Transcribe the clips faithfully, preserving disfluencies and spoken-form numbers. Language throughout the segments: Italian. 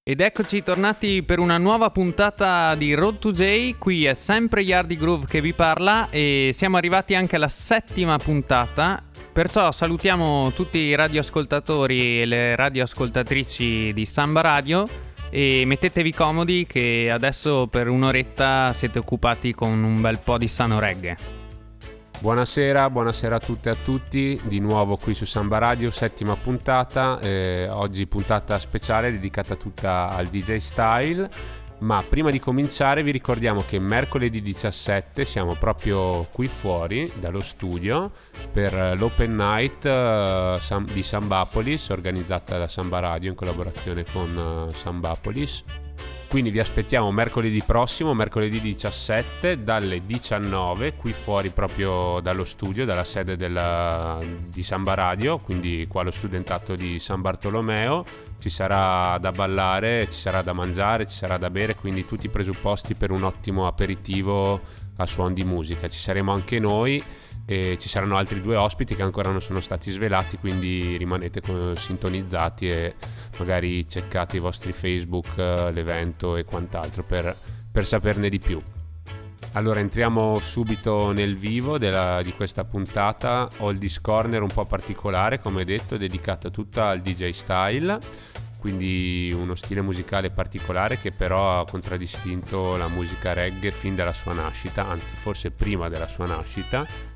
Ed eccoci tornati per una nuova puntata di Road to J. Qui è sempre Yardi Groove che vi parla e siamo arrivati anche alla settima puntata. Perciò salutiamo tutti i radioascoltatori e le radioascoltatrici di Samba Radio e mettetevi comodi che adesso per un'oretta siete occupati con un bel po' di sano reggae. Buonasera, buonasera a tutte e a tutti, di nuovo qui su Samba Radio, settima puntata, eh, oggi puntata speciale dedicata tutta al D J Style, ma prima di cominciare vi ricordiamo che mercoledì diciassette siamo proprio qui fuori dallo studio per l'Open Night uh, Sam- di Sambapolis, organizzata da Samba Radio in collaborazione con uh, Sambapolis. Quindi vi aspettiamo mercoledì prossimo, mercoledì diciassette, dalle diciannove, qui fuori proprio dallo studio, dalla sede della, di Samba Radio, quindi qua allo studentato di San Bartolomeo. Ci sarà da ballare, ci sarà da mangiare, ci sarà da bere, quindi tutti i presupposti per un ottimo aperitivo a suon di musica. Ci saremo anche noi e ci saranno altri due ospiti che ancora non sono stati svelati, quindi rimanete sintonizzati e magari checcate i vostri Facebook, l'evento e quant'altro per, per saperne di più. Allora entriamo subito nel vivo della, di questa puntata. Oldies Corner un po' particolare, come detto, dedicata tutta al D J Style, quindi uno stile musicale particolare che però ha contraddistinto la musica reggae fin dalla sua nascita, anzi forse prima della sua nascita.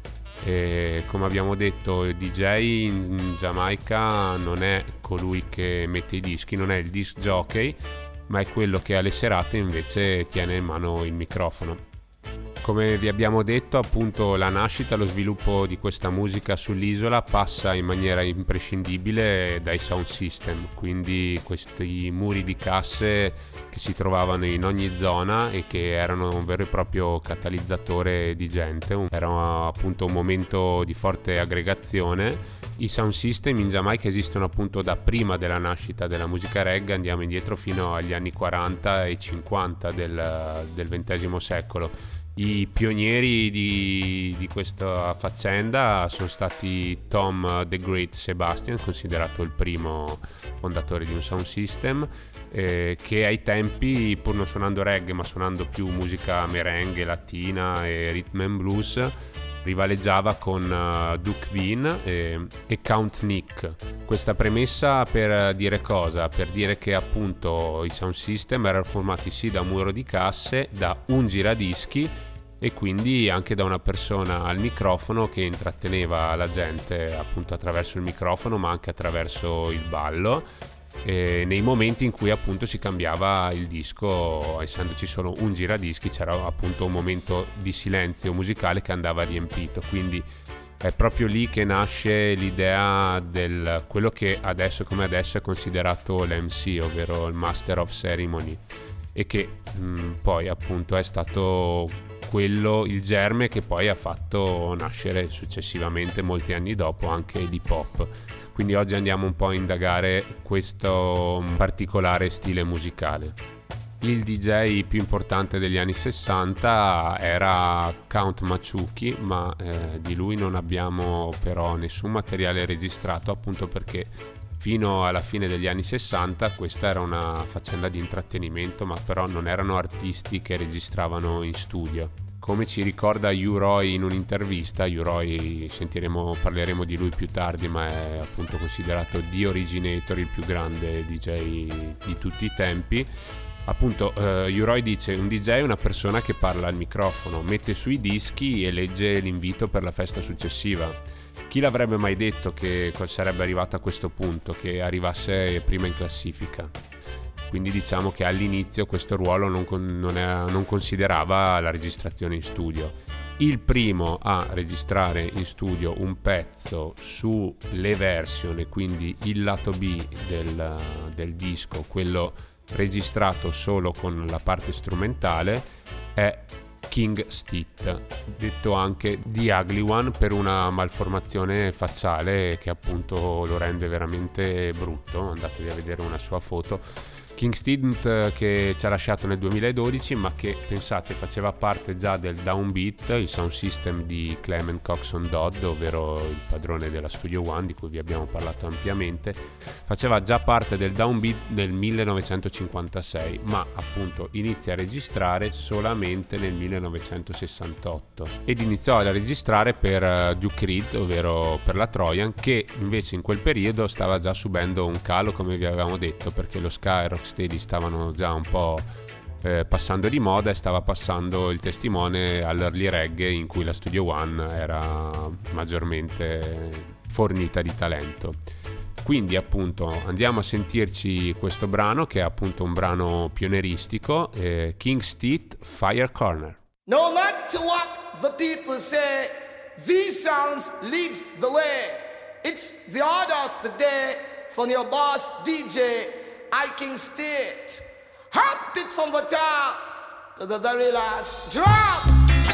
E come abbiamo detto, il D J in Giamaica non è colui che mette i dischi, non è il disc jockey, ma è quello che alle serate invece tiene in mano il microfono. Come vi abbiamo detto, appunto, la nascita, lo sviluppo di questa musica sull'isola passa in maniera imprescindibile dai sound system, quindi questi muri di casse che si trovavano in ogni zona e che erano un vero e proprio catalizzatore di gente. Era appunto un momento di forte aggregazione. I sound system in Giamaica esistono appunto da prima della nascita della musica reggae, andiamo indietro fino agli anni quaranta e cinquanta del, del ventesimo secolo. I pionieri di, di questa faccenda sono stati Tom The Great Sebastian, considerato il primo fondatore di un sound system, eh, che ai tempi, pur non suonando reggae ma suonando più musica merengue, latina e rhythm and blues, rivaleggiava con uh, Duke Bean e, e Count Nick. Questa premessa per dire cosa? Per dire che appunto i sound system erano formati sì da un muro di casse, da un giradischi e quindi anche da una persona al microfono che intratteneva la gente appunto attraverso il microfono ma anche attraverso il ballo, e nei momenti in cui appunto si cambiava il disco, essendoci solo un giradischi c'era appunto un momento di silenzio musicale che andava riempito. Quindi è proprio lì che nasce l'idea del quello che adesso come adesso è considerato l'M C, ovvero il Master of Ceremony, e che mh, poi appunto è stato quello il germe che poi ha fatto nascere successivamente, molti anni dopo, anche l'hip hop. Quindi oggi andiamo un po' a indagare questo particolare stile musicale. Il D J più importante degli anni sessanta era Count Maciucchi, ma eh, di lui non abbiamo però nessun materiale registrato, appunto perché fino alla fine degli anni sessanta questa era una faccenda di intrattenimento, ma però non erano artisti che registravano in studio. Come ci ricorda U-Roy in un'intervista, U-Roy sentiremo, parleremo di lui più tardi, ma è appunto considerato The Originator, il più grande D J di tutti i tempi. Appunto uh, U-Roy dice: un D J è una persona che parla al microfono, mette sui dischi e legge l'invito per la festa successiva. Chi l'avrebbe mai detto che sarebbe arrivato a questo punto, che arrivasse prima in classifica? Quindi diciamo che all'inizio questo ruolo non, non, è, non considerava la registrazione in studio. Il primo a registrare in studio un pezzo sulle version, quindi il lato B del, del disco, quello registrato solo con la parte strumentale, è King Stitt, detto anche The Ugly One per una malformazione facciale che appunto lo rende veramente brutto. Andatevi a vedere una sua foto. King Steed che ci ha lasciato nel duemiladodici, ma che pensate faceva parte già del Downbeat, il sound system di Clement Coxon Dodd, ovvero il padrone della Studio One di cui vi abbiamo parlato ampiamente. Faceva già parte del Downbeat nel millenovecentocinquantasei, ma appunto inizia a registrare solamente nel millenovecentosessantotto ed iniziò a registrare per uh, Duke Reed, ovvero per la Trojan, che invece in quel periodo stava già subendo un calo, come vi avevamo detto, perché lo ska e rocksteady stavano già un po' eh, passando di moda e stava passando il testimone all'early reggae, in cui la Studio One era maggiormente fornita di talento. Quindi appunto andiamo a sentirci questo brano, che è appunto un brano pionieristico, eh, King Steed, Fire Corner. No matter what the people say, these sounds leads the way. It's the order of the day from your boss D J, I King Steed. Hot it from the top to the very last drop.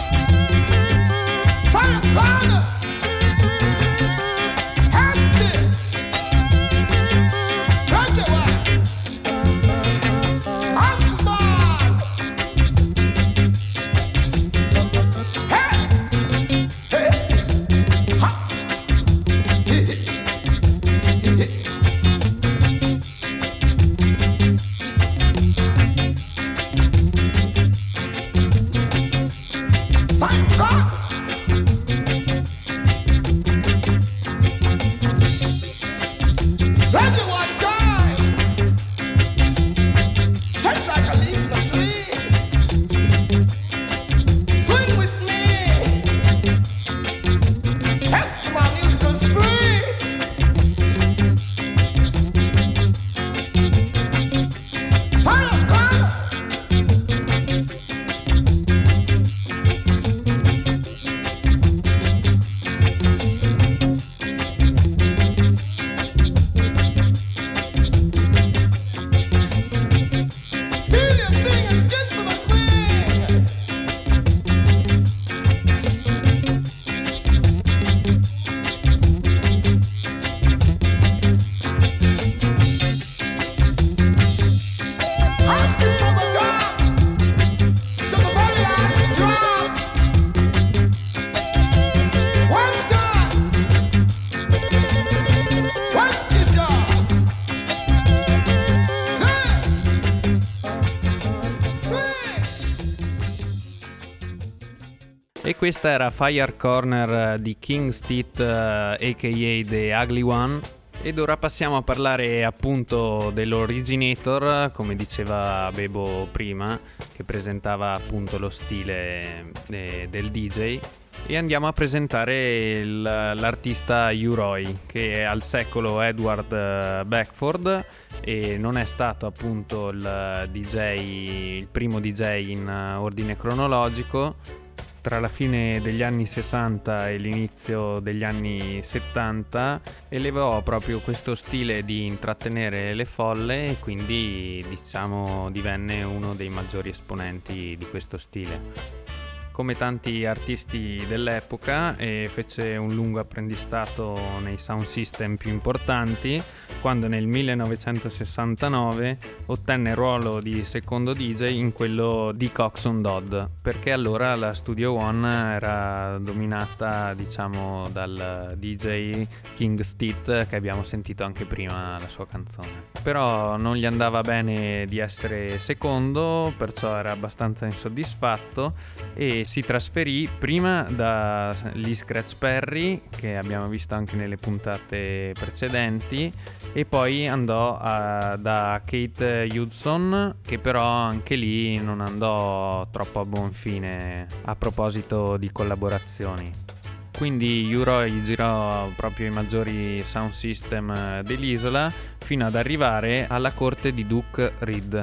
Fire corner. Hot it. Rock your ass. Akbar. Hey. Hey. Ha. E questa era Fire Corner di King Steed, a k a. The Ugly One. Ed ora passiamo a parlare appunto dell'originator, come diceva Bebo prima, che presentava appunto lo stile eh, del D J. E andiamo a presentare il, l'artista U-Roy, che è al secolo Edward Beckford e non è stato appunto il D J, il primo D J in ordine cronologico. Tra la fine degli anni sessanta e l'inizio degli anni settanta elevò proprio questo stile di intrattenere le folle e quindi diciamo divenne uno dei maggiori esponenti di questo stile. Come tanti artisti dell'epoca, e fece un lungo apprendistato nei sound system più importanti, quando nel millenovecentosessantanove ottenne il ruolo di secondo D J in quello di Coxon Dodd, perché allora la Studio One era dominata, diciamo, dal D J King Steed, che abbiamo sentito anche prima la sua canzone. Però non gli andava bene di essere secondo, perciò era abbastanza insoddisfatto e si trasferì prima da Lee Scratch Perry, che abbiamo visto anche nelle puntate precedenti, e poi andò a, da Kate Hudson, che però anche lì non andò troppo a buon fine a proposito di collaborazioni. Quindi U-Roy girò proprio i maggiori sound system dell'isola fino ad arrivare alla corte di Duke Reed.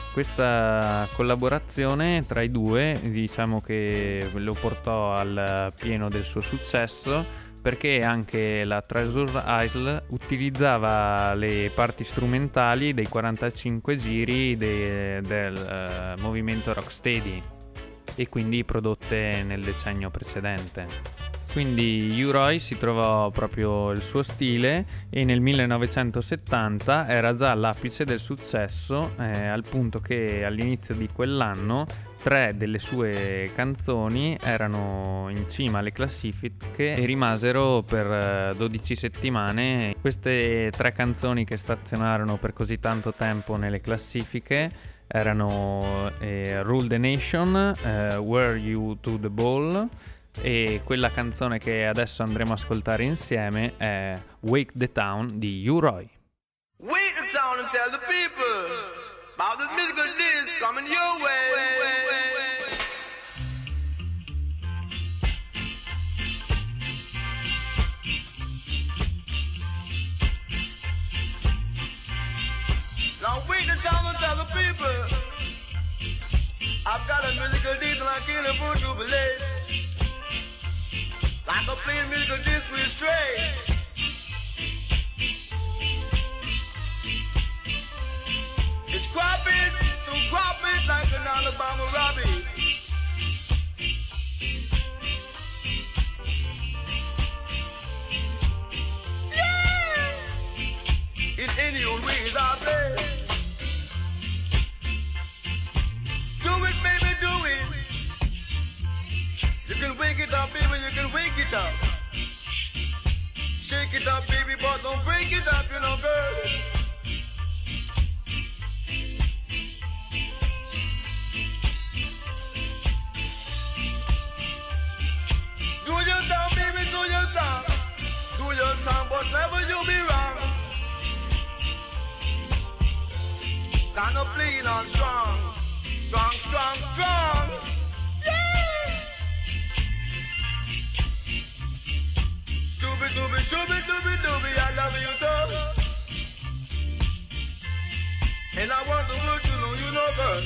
Questa collaborazione tra i due, diciamo che lo portò al pieno del suo successo, perché anche la Treasure Isle utilizzava le parti strumentali dei quarantacinque giri de, del uh, movimento rocksteady e quindi prodotte nel decennio precedente. Quindi U-Roy si trovò proprio il suo stile e nel millenovecentosettanta era già all'apice del successo, eh, al punto che all'inizio di quell'anno tre delle sue canzoni erano in cima alle classifiche e rimasero per dodici settimane. Queste tre canzoni che stazionarono per così tanto tempo nelle classifiche erano eh, Rule the Nation, eh, Were You to the Ball, e quella canzone che adesso andremo a ascoltare insieme è Wake the Town di U-Roy. Wake the town and tell the people about the musical disc coming your way. Now wake the town and tell the people I've got a musical disc and I can't afford to believe. Like a plain musical disc with straight. It's cropping, so crop it like an Alabama rabbit. Yeah! It's any old ways I play. Do it, baby, do it. You can wake it up, baby, you can wake it up. Shake it up, baby, but don't break it up, you know, girl. Do your thing, baby, do your thing. Do your thing, but never you be wrong. Kind of clean and strong. Strong, strong, strong. Doobie, doobie, doobie, doobie, doobie, I love you so. And I want the world to know you know, girl.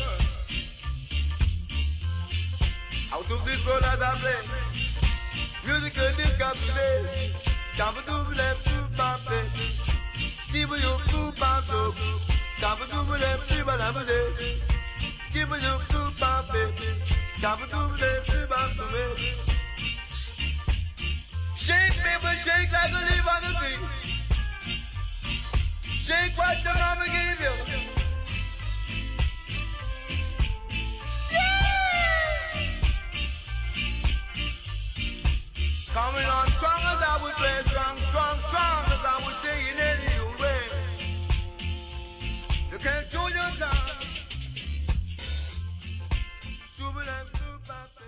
Out of this world as I play musical disc got today. Stabba doobie left to pop it. Skibba you to pop up. Stabba doobie left to pop it. Skibba you to pop it. Stabba doobie left to pop it. Shake, baby, shake like a leaf on the tree. Shake what your mama gave you. Yeah! Coming on strong as I would play, strong, strong, strong as I would say in any old way. You can't do your time. Stupid and stupid.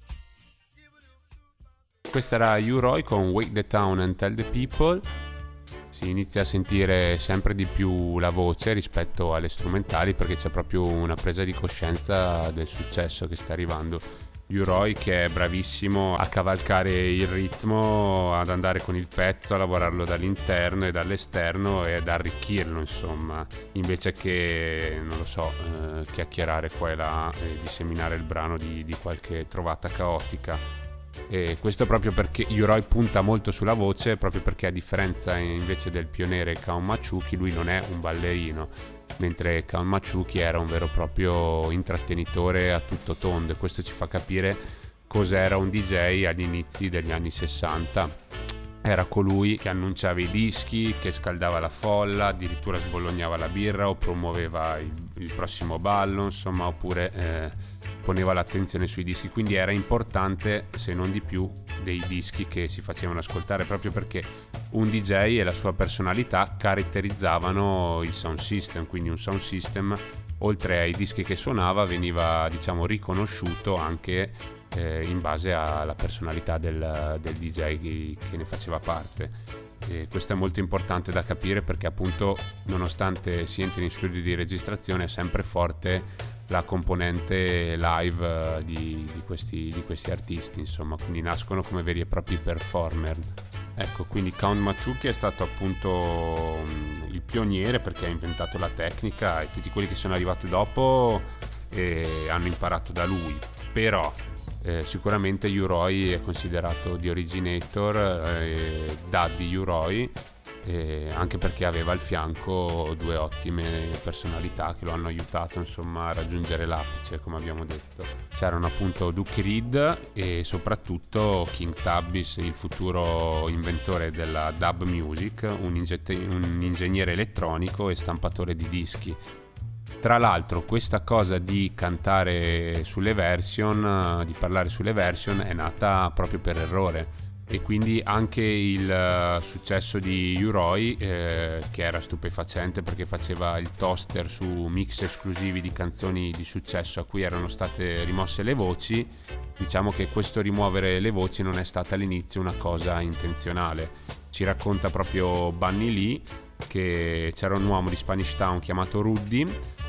Questa era U-Roy con Wake the Town and Tell the People. Si inizia a sentire sempre di più la voce rispetto alle strumentali, perché c'è proprio una presa di coscienza del successo che sta arrivando. U-Roy che è bravissimo a cavalcare il ritmo, ad andare con il pezzo, a lavorarlo dall'interno e dall'esterno e ad arricchirlo, insomma, invece che, non lo so, eh, chiacchierare qua e là e disseminare il brano di, di qualche trovata caotica. E questo proprio perché U-Roy punta molto sulla voce, proprio perché a differenza invece del pioniere Count Maciucchi, lui non è un ballerino, mentre Count Maciucchi era un vero e proprio intrattenitore a tutto tondo, e questo ci fa capire cos'era un D J agli inizi degli anni sessanta. Era colui che annunciava i dischi, che scaldava la folla, addirittura sbolognava la birra o promuoveva il, il prossimo ballo, insomma, oppure eh, poneva l'attenzione sui dischi. Quindi era importante, se non di più, dei dischi che si facevano ascoltare, proprio perché un D J e la sua personalità caratterizzavano il sound system. Quindi un sound system, oltre ai dischi che suonava, veniva, diciamo, riconosciuto anche eh, in base alla personalità del, del D J che ne faceva parte. E questo è molto importante da capire, perché appunto, nonostante si entri in studio di registrazione, è sempre forte la componente live di, di, questi, di questi artisti, insomma, quindi nascono come veri e propri performer. Ecco, quindi Count Maciucchi è stato appunto il pioniere, perché ha inventato la tecnica, e tutti quelli che sono arrivati dopo eh, hanno imparato da lui. Però eh, sicuramente U-Roy è considerato the originator, eh, Daddy U-Roy, eh, anche perché aveva al fianco due ottime personalità che lo hanno aiutato insomma a raggiungere l'apice, come abbiamo detto. C'erano appunto Duke Reed e soprattutto King Tubbs, il futuro inventore della dub music, un, ingete- un ingegnere elettronico e stampatore di dischi. Tra l'altro questa cosa di cantare sulle version, di parlare sulle version, è nata proprio per errore, e quindi anche il successo di U-Roy, eh, che era stupefacente perché faceva il toaster su mix esclusivi di canzoni di successo a cui erano state rimosse le voci. Diciamo che questo rimuovere le voci non è stata all'inizio una cosa intenzionale. Ci racconta proprio Bunny Lee che c'era un uomo di Spanish Town chiamato Ruddy,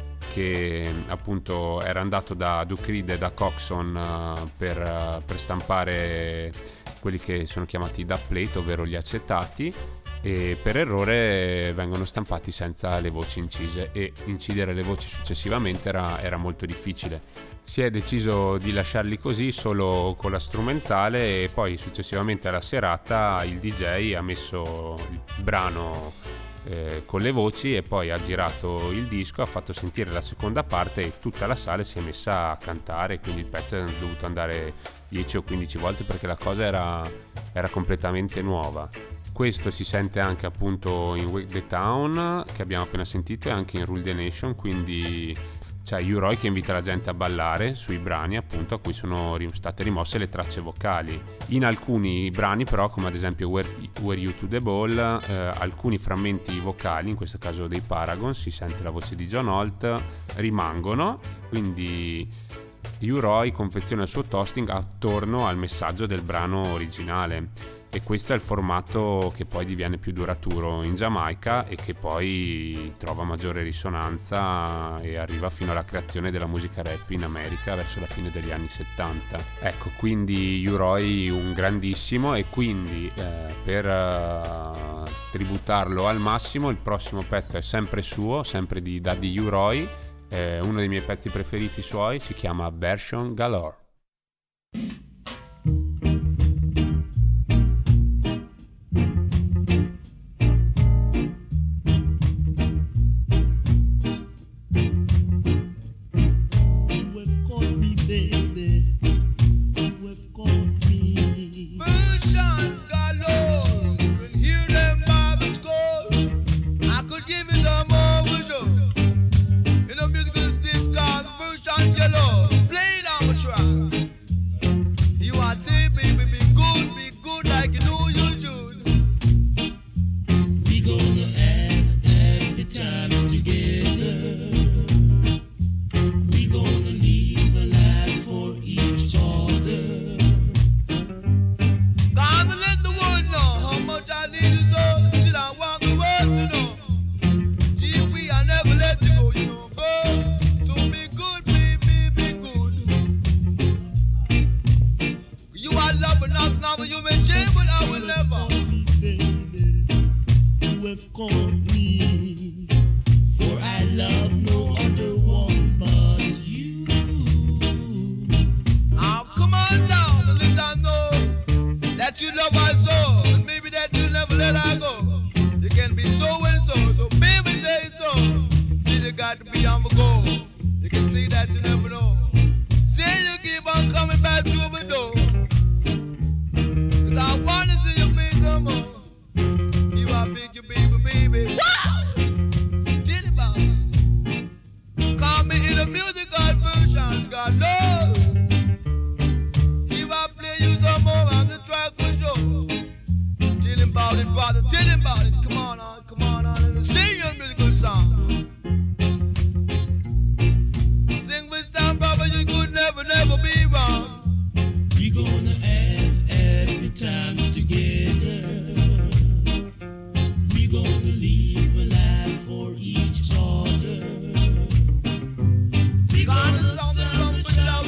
che appunto era andato da Duke Reed e da Coxon uh, per, uh, per stampare quelli che sono chiamati dubplate, ovvero gli acetati, e per errore vengono stampati senza le voci incise, e incidere le voci successivamente era, era molto difficile. Si è deciso di lasciarli così solo con la strumentale, e poi successivamente alla serata il D J ha messo il brano Eh, con le voci e poi ha girato il disco, ha fatto sentire la seconda parte e tutta la sala si è messa a cantare, quindi il pezzo è dovuto andare dieci o quindici volte perché la cosa era, era completamente nuova. Questo si sente anche appunto in Wake the Town, che abbiamo appena sentito, e anche in Rule the Nation, quindi c'è U-Roy che invita la gente a ballare sui brani appunto a cui sono state rimosse le tracce vocali. In alcuni brani però, come ad esempio Were, Were You to the Ball, eh, alcuni frammenti vocali, in questo caso dei Paragon, si sente la voce di John Holt, rimangono, quindi U-Roy confeziona il suo toasting attorno al messaggio del brano originale, e questo è il formato che poi diviene più duraturo in Giamaica e che poi trova maggiore risonanza e arriva fino alla creazione della musica rap in America verso la fine degli anni settanta. Ecco, quindi U-Roy un grandissimo, e quindi eh, per uh, tributarlo al massimo il prossimo pezzo è sempre suo, sempre di Daddy U-Roy, eh, uno dei miei pezzi preferiti suoi, si chiama Version Galore. Gonna sound the trumpet down.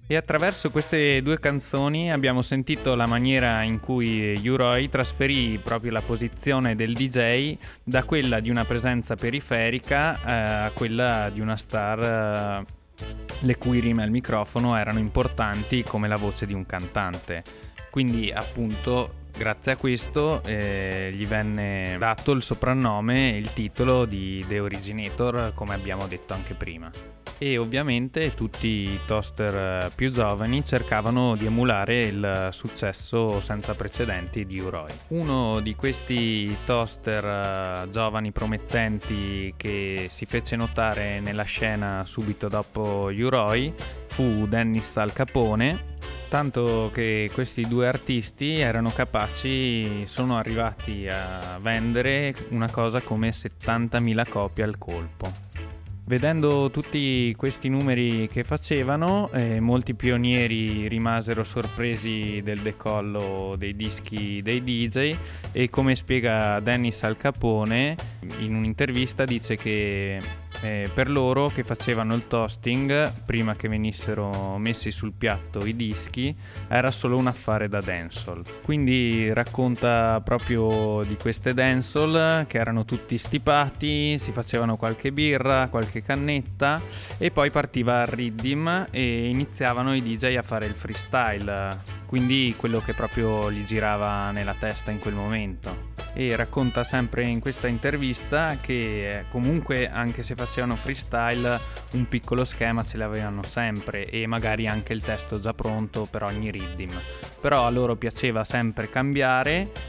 E attraverso queste due canzoni abbiamo sentito la maniera in cui U-Roy trasferì proprio la posizione del D J da quella di una presenza periferica eh, a quella di una star eh, le cui rime al microfono erano importanti come la voce di un cantante. Quindi appunto grazie a questo eh, gli venne dato il soprannome e il titolo di The Originator, come abbiamo detto anche prima. E ovviamente tutti i toaster più giovani cercavano di emulare il successo senza precedenti di U-Roy. Uno di questi toaster giovani promettenti che si fece notare nella scena subito dopo U-Roy fu Dennis Al Capone, tanto che questi due artisti erano capaci, sono arrivati a vendere una cosa come settantamila copie al colpo. Vedendo tutti questi numeri che facevano, eh, molti pionieri rimasero sorpresi del decollo dei dischi dei D J e, come spiega Dennis Al Capone in un'intervista, dice che eh, per loro che facevano il toasting prima che venissero messi sul piatto i dischi era solo un affare da dancehall. Quindi racconta proprio di queste dancehall che erano tutti stipati, si facevano qualche birra, qualche cannetta e poi partiva il riddim e iniziavano i D J a fare il freestyle, quindi quello che proprio gli girava nella testa in quel momento. E racconta sempre in questa intervista che comunque anche se facevano freestyle un piccolo schema ce l'avevano sempre e magari anche il testo già pronto per ogni riddim, però a loro piaceva sempre cambiare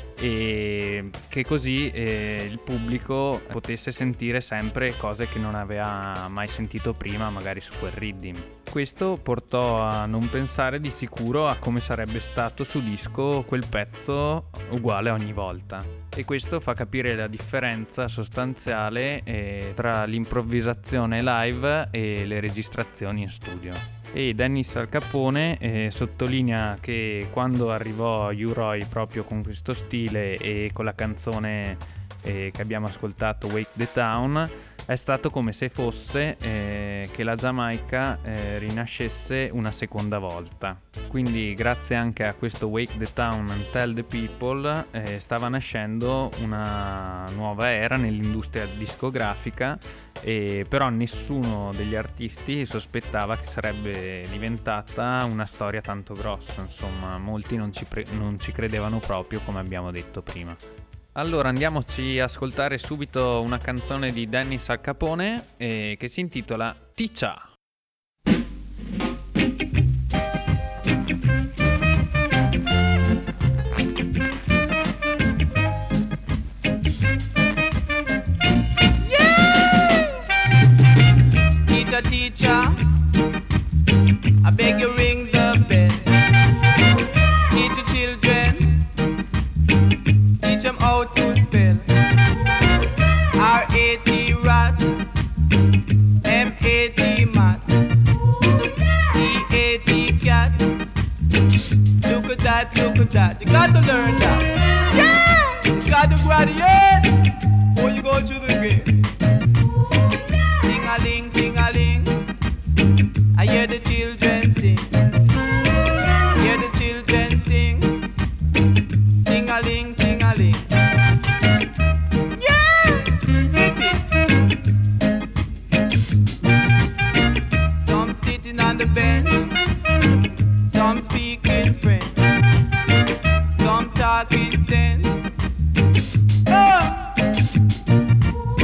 e che così eh, il pubblico potesse sentire sempre cose che non aveva mai sentito prima magari su quel riddim. Questo portò a non pensare di sicuro a come sarebbe stato su disco quel pezzo uguale ogni volta, e questo fa capire la differenza sostanziale eh, tra l'improvvisazione live e le registrazioni in studio. E Dennis Al Capone eh, sottolinea che quando arrivò U-Roy proprio con questo stile e con la canzone eh, che abbiamo ascoltato, Wake the Town, è stato come se fosse eh, che la Giamaica eh, rinascesse una seconda volta. Quindi grazie anche a questo Wake the Town and Tell the People eh, stava nascendo una nuova era nell'industria discografica, e però nessuno degli artisti sospettava che sarebbe diventata una storia tanto grossa. Insomma, molti non ci, pre- non ci credevano proprio, come abbiamo detto prima. Allora andiamoci a ascoltare subito una canzone di Dennis Al Capone eh, che si intitola Ticha. Teacher, teacher, I beg you ring the bell. Teach your children, teach them how to spell. R A T rat, M A T mat, C A T cat. Look at that, look at that. You got to learn that. Yeah! You got to graduate before you go through the gate. Ting-a-ling, ting-a-ling, I hear the children sing. Hear the children sing. Ting-a-ling, ting-a-ling. Yeah! Hit it! Some sitting on the bench, some speaking French, some talking sense. Oh!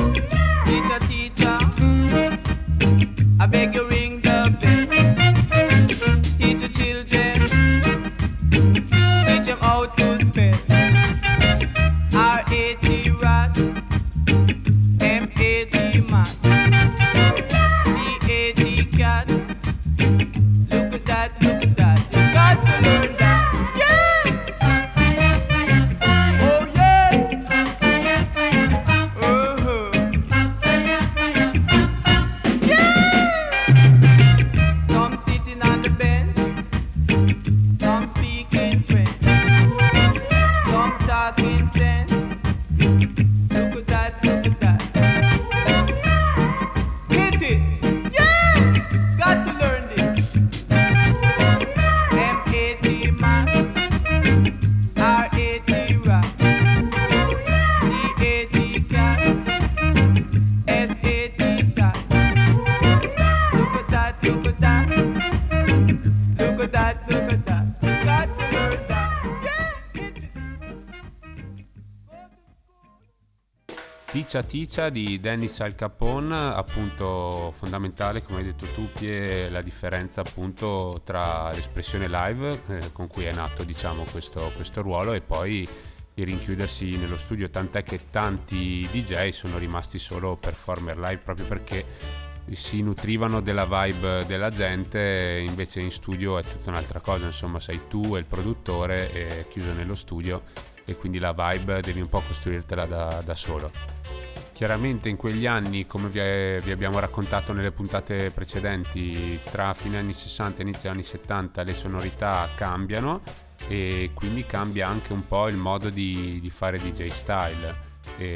Ticia Ticia di Dennis Al Capone, appunto fondamentale, come hai detto tu Pie, la differenza appunto tra l'espressione live eh, con cui è nato diciamo questo, questo ruolo, e poi il rinchiudersi nello studio, tant'è che tanti D J sono rimasti solo performer live proprio perché si nutrivano della vibe della gente, invece in studio è tutta un'altra cosa, insomma sei tu e il produttore e chiuso nello studio, e quindi la vibe devi un po' costruirtela da, da solo. Chiaramente in quegli anni, come vi, è, vi abbiamo raccontato nelle puntate precedenti, tra fine anni sessanta e inizio anni settanta le sonorità cambiano, e quindi cambia anche un po' il modo di, di fare D J style,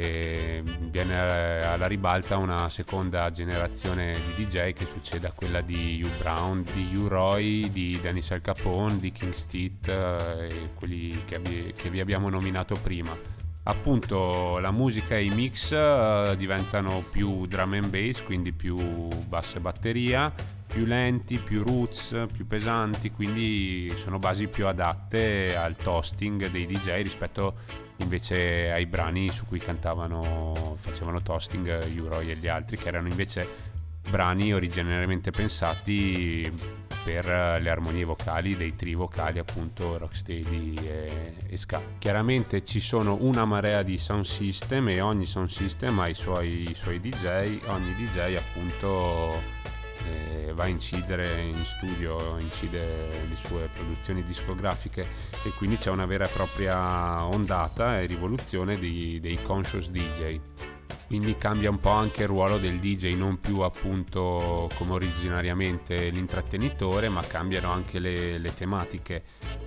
e viene alla ribalta una seconda generazione di D J che succede a quella di Hugh Brown, di Hugh Roy, di Dennis Al Capone, di King Steet e quelli che, vi, che vi abbiamo nominato prima. Appunto la musica e i mix uh, diventano più drum and bass, quindi più basso e batteria, più lenti, più roots, più pesanti, quindi sono basi più adatte al toasting dei D J rispetto invece ai brani su cui cantavano, facevano toasting Hugh Roy e gli altri, che erano invece brani originariamente pensati per le armonie vocali dei tri vocali, appunto rocksteady e, e ska. Chiaramente ci sono una marea di sound system e ogni sound system ha i suoi, i suoi D J, ogni D J appunto eh, va a incidere in studio, incide le sue produzioni discografiche, e quindi c'è una vera e propria ondata e rivoluzione di, dei conscious D J. Quindi cambia un po' anche il ruolo del D J, non più appunto come originariamente l'intrattenitore, ma cambiano anche le, le tematiche.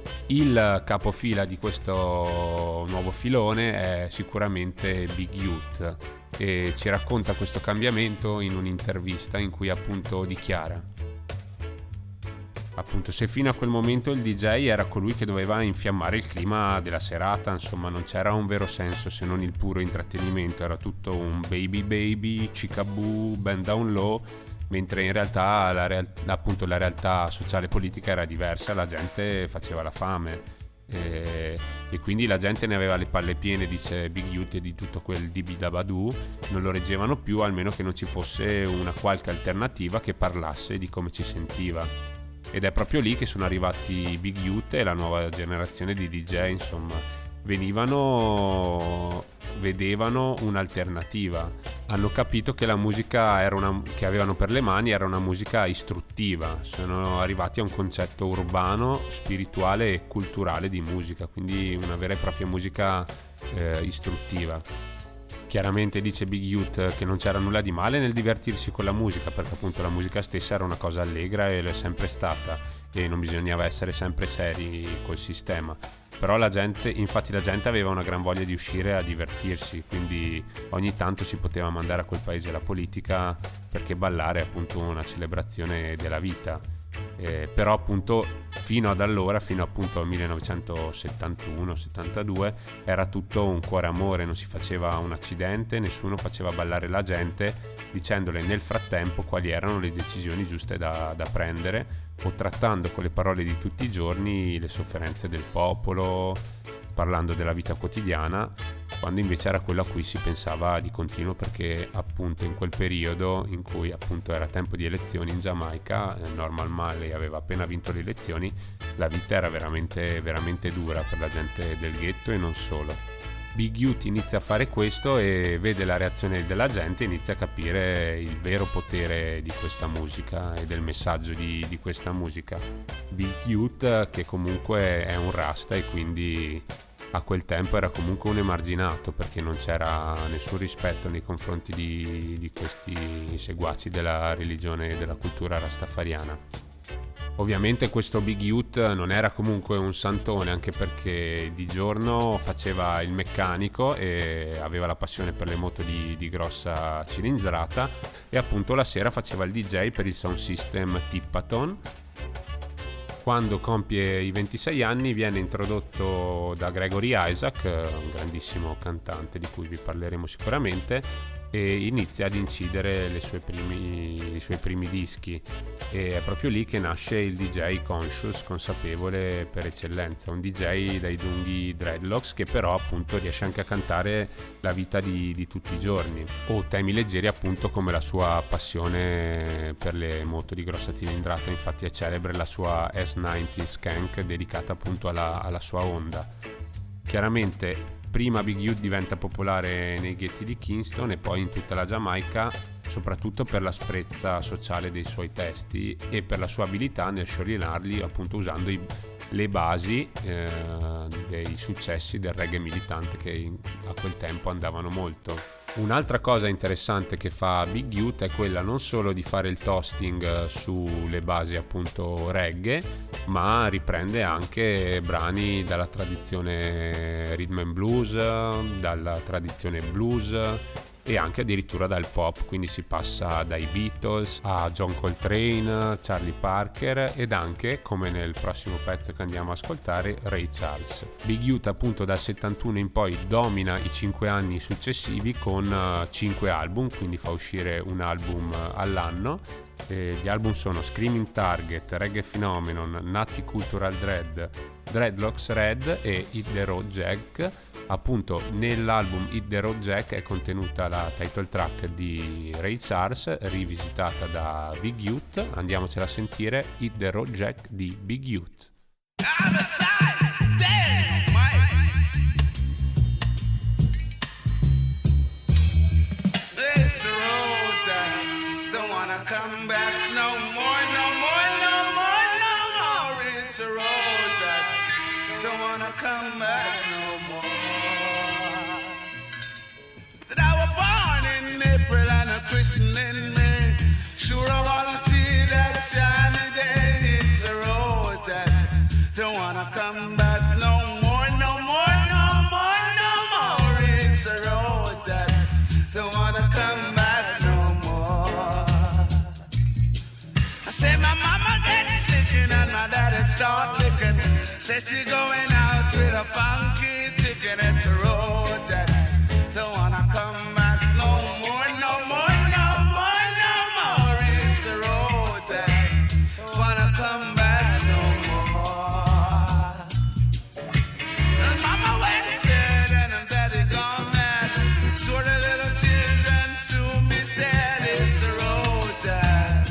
Il capofila di questo nuovo filone è sicuramente Big Youth, e ci racconta questo cambiamento in un'intervista in cui appunto dichiara: appunto, se fino a quel momento il D J era colui che doveva infiammare il clima della serata, insomma non c'era un vero senso se non il puro intrattenimento, era tutto un baby baby, chickaboo, bend down low, mentre in realtà la, real- appunto, la realtà sociale e politica era diversa, la gente faceva la fame e, e quindi la gente ne aveva le palle piene, dice Big Youth, e di tutto quel dibidabadoo non lo reggevano più, almeno che non ci fosse una qualche alternativa che parlasse di come ci sentiva. Ed è proprio lì che sono arrivati Big Youth e la nuova generazione di D J, insomma, venivano, vedevano un'alternativa, hanno capito che la musica era una, che avevano per le mani era una musica istruttiva, sono arrivati a un concetto urbano, spirituale e culturale di musica, quindi una vera e propria musica eh, istruttiva. Chiaramente dice Big Youth che non c'era nulla di male nel divertirsi con la musica, perché appunto la musica stessa era una cosa allegra e lo è sempre stata, e non bisognava essere sempre seri col sistema. Però la gente, infatti la gente aveva una gran voglia di uscire a divertirsi, quindi ogni tanto si poteva mandare a quel paese la politica, perché ballare è appunto una celebrazione della vita. Eh, però appunto fino ad allora, fino appunto al millenovecentosettantuno settantadue, era tutto un cuore amore, non si faceva un accidente, nessuno faceva ballare la gente dicendole nel frattempo quali erano le decisioni giuste da, da prendere, o trattando con le parole di tutti i giorni le sofferenze del popolo, parlando della vita quotidiana, quando invece era quello a cui si pensava di continuo, perché appunto in quel periodo in cui appunto era tempo di elezioni in Giamaica, eh, Norman Marley aveva appena vinto le elezioni, la vita era veramente veramente dura per la gente del ghetto e non solo. Big Youth inizia a fare questo e vede la reazione della gente, inizia a capire il vero potere di questa musica e del messaggio di, di questa musica. Big Youth, che comunque è un rasta e quindi a quel tempo era comunque un emarginato, perché non c'era nessun rispetto nei confronti di, di questi seguaci della religione e della cultura rastafariana. Ovviamente questo Big Youth non era comunque un santone, anche perché di giorno faceva il meccanico e aveva la passione per le moto di, di grossa cilindrata, e appunto la sera faceva il D J per il sound system Tippaton. Quando compie i ventisei anni viene introdotto da Gregory Isaac, un grandissimo cantante di cui vi parleremo sicuramente, e inizia ad incidere le sue primi, i suoi primi dischi, e è proprio lì che nasce il D J conscious, consapevole per eccellenza, un D J dai lunghi dreadlocks che però appunto riesce anche a cantare la vita di, di tutti i giorni, o temi leggeri appunto come la sua passione per le moto di grossa cilindrata. Infatti è celebre la sua S novanta Skank dedicata appunto alla, alla sua Honda. Chiaramente prima Big Youth diventa popolare nei ghetti di Kingston e poi in tutta la Giamaica, soprattutto per l'asprezza sociale dei suoi testi e per la sua abilità nel sciorinarli appunto usando i, le basi eh, dei successi del reggae militante che in, a quel tempo andavano molto. Un'altra cosa interessante che fa Big Youth è quella non solo di fare il toasting sulle basi appunto reggae, ma riprende anche brani dalla tradizione rhythm and blues, dalla tradizione blues e anche addirittura dal pop, quindi si passa dai Beatles a John Coltrane, Charlie Parker ed anche, come nel prossimo pezzo che andiamo a ascoltare, Ray Charles. Big Youth appunto dal settantuno in poi domina i cinque anni successivi con cinque album, quindi fa uscire un album all'anno. E gli album sono Screaming Target, Reggae Phenomenon, Nutty Cultural Dread, Dreadlocks Red e Hit the Road Jack. Appunto nell'album Hit the Road Jack è contenuta la title track di Ray Charles rivisitata da Big Youth. Andiamocela a sentire, Hit the Road Jack di Big Youth. Come back no more, no more, no more, no more. It's a road that don't wanna come back no more. Said I was born in April and a Christian in May. Sure I wanna see that shiny day. It's a road that don't wanna come back no more, no more, no more, no more. It's a road that don't wanna come back no more. I say my mama gets slicking and my daddy start licking. Say she going out with a funky chicken. It's a road that don't wanna come back no more, no more, no more, no more. It's a road that don't wanna come back no more. And mama went sad and her daddy gone mad. So the little children soon be sad. It's a road that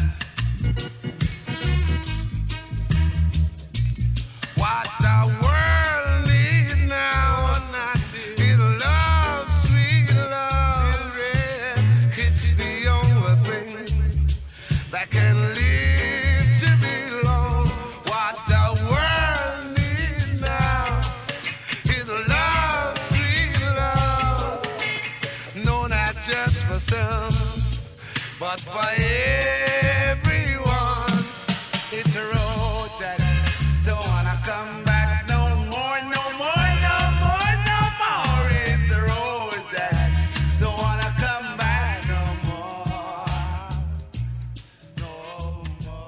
what the world needs now is love, sweet love. It's the only thing that can lead to belong. What the world needs now is love, sweet love. No, not just for some, but for everyone. It's a road that don't wanna come back no more, no more, no more, no more. It's a road that don't wanna come back no more, no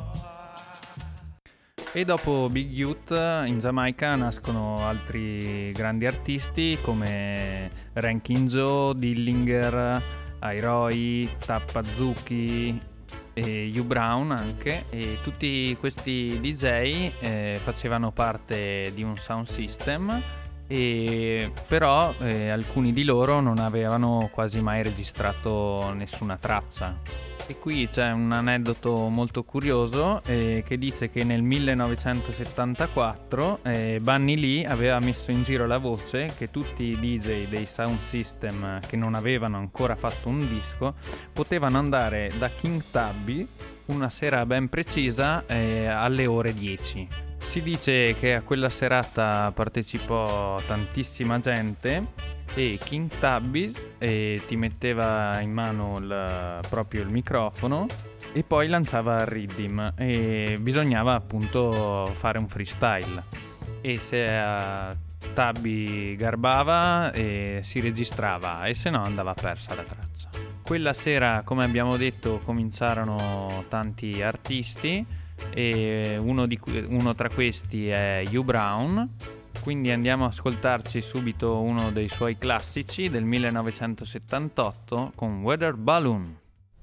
more. E dopo Big Youth in Giamaica nascono altri grandi artisti come Rankin Joe, Dillinger, Iroy, Tappazuki e Hugh Brown anche, e tutti questi D J eh, facevano parte di un sound system, e però eh, alcuni di loro non avevano quasi mai registrato nessuna traccia. E qui c'è un aneddoto molto curioso eh, che dice che nel millenovecentosettantaquattro eh, Bunny Lee aveva messo in giro la voce che tutti i D J dei sound system che non avevano ancora fatto un disco potevano andare da King Tubby una sera ben precisa eh, alle ore dieci. Si dice che a quella serata partecipò tantissima gente e King Tubby eh, ti metteva in mano il, proprio il microfono e poi lanciava il rhythm e bisognava appunto fare un freestyle, e se uh, Tubby garbava eh, si registrava, e se no andava persa la traccia. Quella sera, come abbiamo detto, cominciarono tanti artisti, e uno, di, uno tra questi è Hugh Brown, Quindi andiamo a ascoltarci subito uno dei suoi classici del millenovecentosettantotto con Weather Balloon.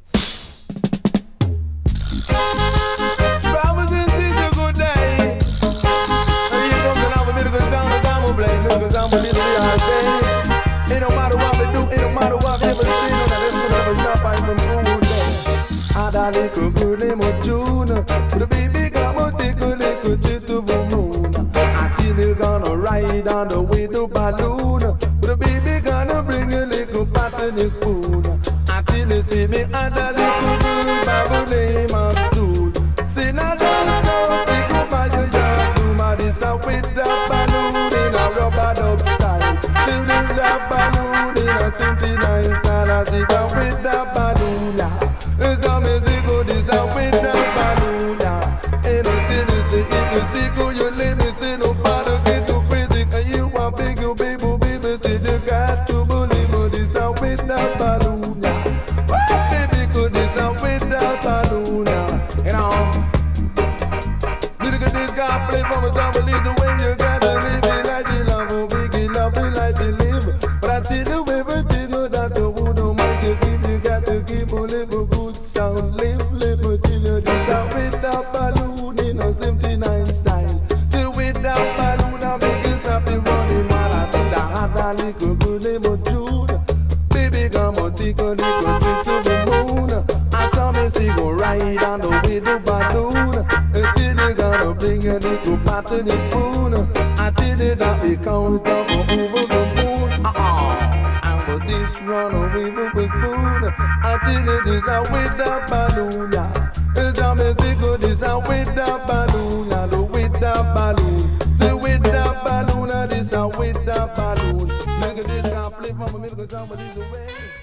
Ain't no matter what we do, ain't no matter what we ever see, no, that will never stop us from moving. I got a little girl named June, with a baby come and take a little trip to the moon. Until you gonna ride on the weather balloon, with a baby gonna bring a little pot in his spoon. Until you see me and a little girl by the name of June. Say now don't know, think about your yard, do my this out with the balloon in a rubber dub style. Till the balloon in a seventy-nine style, I sit down with the balloon now. It's a music go this down with the balloon now. Ain't no till you say if you see go you let me say nobody get too crazy. And you want big you baby baby say you got to believe go this down with the balloon now. Baby go this down with the balloon now. You know, look at this guy play from his own believe the way you got to live it like you love oh big you love it like you live. But I tell you everything you that the wood don't mind to give you got to give a little good sound. Live, live till you this out with the balloon in a seventy-nine style. Till with the balloon I make it stop it running while I see the hot a little good little June. Baby come on take a little trip to the moon. I saw me see go ride on the with the balloon. Until you gonna bring a little pot in the spoon. Until you that we count up over the moon. Uh-uh. And for this run away with the spoon. Until it is out with the balloon. It's a music good is out with the balloon. And with the balloon. Say with the balloon. And this out with the balloon. Make this guy play from a middle somebody's away.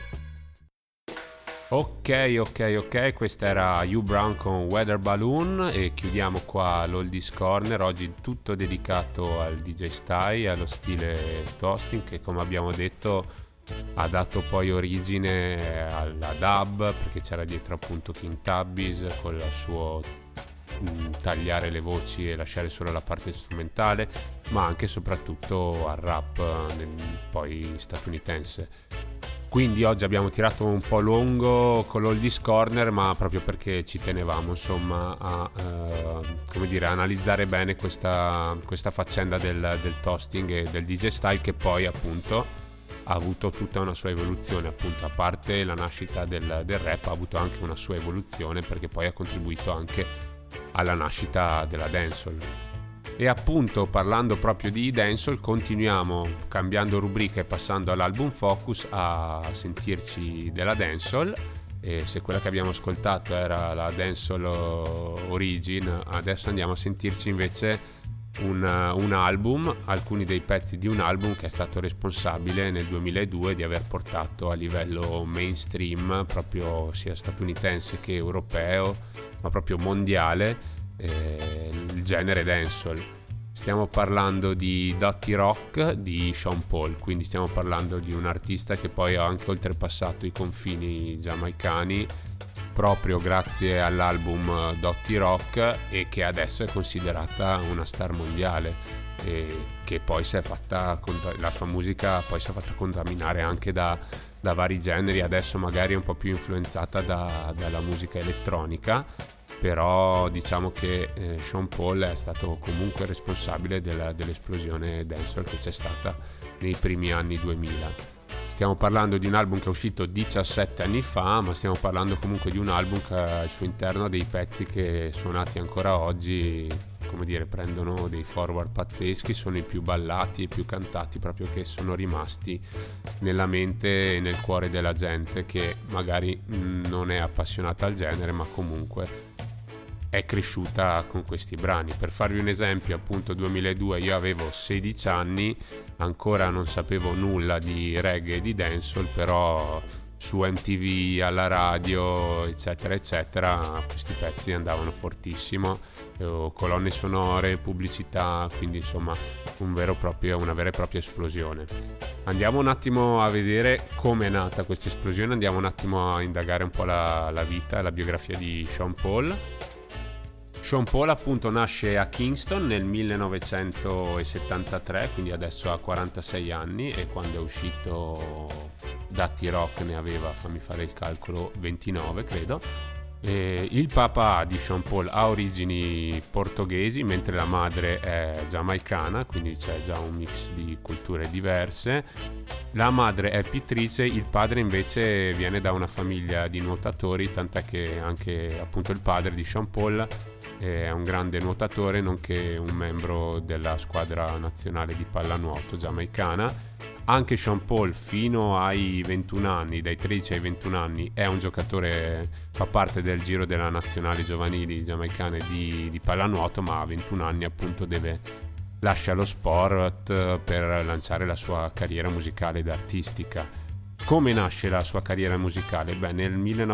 Ok, ok, ok, questa era Hugh Brown con Weather Balloon e chiudiamo qua l'Oldies Corner, oggi tutto dedicato al D J style, allo stile toasting che come abbiamo detto ha dato poi origine alla dub, perché c'era dietro appunto King Tubby's con il suo mh, tagliare le voci e lasciare solo la parte strumentale, ma anche e soprattutto al rap nel, poi statunitense. Quindi oggi abbiamo tirato un po' lungo con l'Oldies Corner, ma proprio perché ci tenevamo insomma a eh, come dire, analizzare bene questa, questa faccenda del, del toasting e del D J style, che poi appunto ha avuto tutta una sua evoluzione, appunto a parte la nascita del, del rap ha avuto anche una sua evoluzione, perché poi ha contribuito anche alla nascita della dancehall. E appunto parlando proprio di dancehall continuiamo cambiando rubrica e passando all'album Focus a sentirci della dancehall, e se quella che abbiamo ascoltato era la dancehall origin, adesso andiamo a sentirci invece un, un album, alcuni dei pezzi di un album che è stato responsabile nel duemiladue di aver portato a livello mainstream, proprio sia statunitense che europeo, ma proprio mondiale, Eh, il genere dancehall. Stiamo parlando di Dotty Rock di Sean Paul, quindi stiamo parlando di un artista che poi ha anche oltrepassato i confini giamaicani proprio grazie all'album Dotty Rock, e che adesso è considerata una star mondiale, e che poi si è fatta, la sua musica poi si è fatta contaminare anche da, da vari generi, adesso magari è un po' più influenzata da, dalla musica elettronica, però diciamo che eh, Sean Paul è stato comunque responsabile della, dell'esplosione dancehall che c'è stata nei primi anni duemila. Stiamo parlando di un album che è uscito diciassette anni fa, ma stiamo parlando comunque di un album che ha al suo interno dei pezzi che suonati ancora oggi, come dire, prendono dei forward pazzeschi, sono i più ballati e più cantati, proprio che sono rimasti nella mente e nel cuore della gente che magari mh, non è appassionata al genere, ma comunque è cresciuta con questi brani. Per farvi un esempio, appunto duemiladue io avevo sedici anni, ancora non sapevo nulla di reggae e di dancehall, però su M T V, alla radio, eccetera eccetera, questi pezzi andavano fortissimo, eh, colonne sonore, pubblicità, quindi insomma un vero proprio, una vera e propria esplosione. Andiamo un attimo a vedere come è nata questa esplosione, andiamo un attimo a indagare un po' la, la vita e la biografia di Sean Paul. Sean Paul appunto nasce a Kingston nel millenovecentosettantatré, quindi adesso ha quarantasei anni, e quando è uscito Dirty Rock ne aveva, fammi fare il calcolo, ventinove credo. E il papà di Sean Paul ha origini portoghesi, mentre la madre è giamaicana, quindi c'è già un mix di culture diverse. La madre è pittrice, il padre invece viene da una famiglia di nuotatori, tant'è che anche appunto il padre di Sean Paul è un grande nuotatore, nonché un membro della squadra nazionale di pallanuoto giamaicana. Anche Sean Paul fino ai ventuno anni, dai tredici ai ventuno anni, è un giocatore, fa parte del giro della nazionale giovanili giamaicane di, di pallanuoto, ma a ventuno anni appunto deve lascia lo sport per lanciare la sua carriera musicale ed artistica. Come nasce la sua carriera musicale? Beh, nel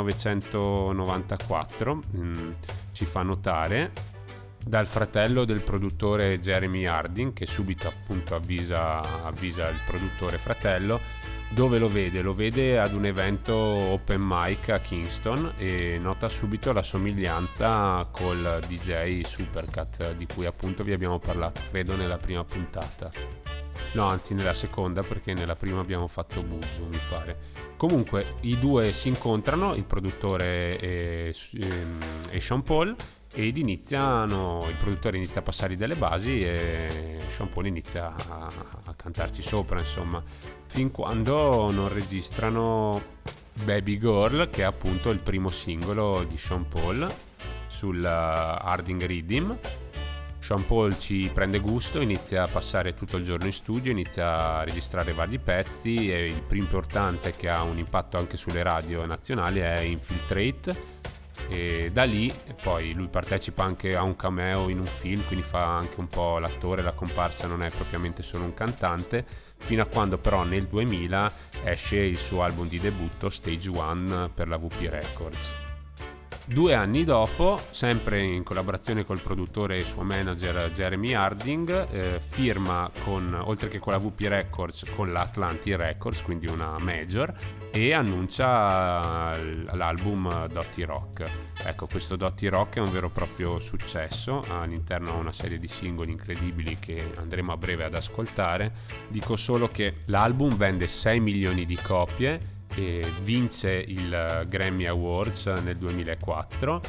millenovecentonovantaquattro mh, ci fa notare dal fratello del produttore Jeremy Harding, che subito appunto avvisa, avvisa il produttore fratello. Dove lo vede? Lo vede ad un evento open mic a Kingston e nota subito la somiglianza col D J Supercat di cui appunto vi abbiamo parlato, credo nella prima puntata. No, anzi nella seconda, perché nella prima abbiamo fatto Buju, mi pare. Comunque i due si incontrano, il produttore e, e Sean Paul, ed iniziano, il produttore inizia a passare delle basi e Sean Paul inizia a, a cantarci sopra, insomma, fin quando non registrano Baby Girl, che è appunto il primo singolo di Sean Paul sul Harding Rhythm. Sean Paul ci prende gusto, inizia a passare tutto il giorno in studio, inizia a registrare vari pezzi, e il più importante, che ha un impatto anche sulle radio nazionali, è Infiltrate. E da lì poi lui partecipa anche a un cameo in un film, quindi fa anche un po' l'attore, la comparsa, non è propriamente solo un cantante, fino a quando però nel duemila esce il suo album di debutto Stage One per la W P Records. Due anni dopo, sempre in collaborazione col produttore e suo manager Jeremy Harding, eh, firma con, oltre che con la W P Records, con la Atlantic Records, quindi una major, e annuncia l'album Dirty Rock. Ecco, questo Dirty Rock è un vero e proprio successo, all'interno ha una serie di singoli incredibili che andremo a breve ad ascoltare. Dico solo che l'album vende sei milioni di copie e vince il Grammy Awards nel duemilaquattro,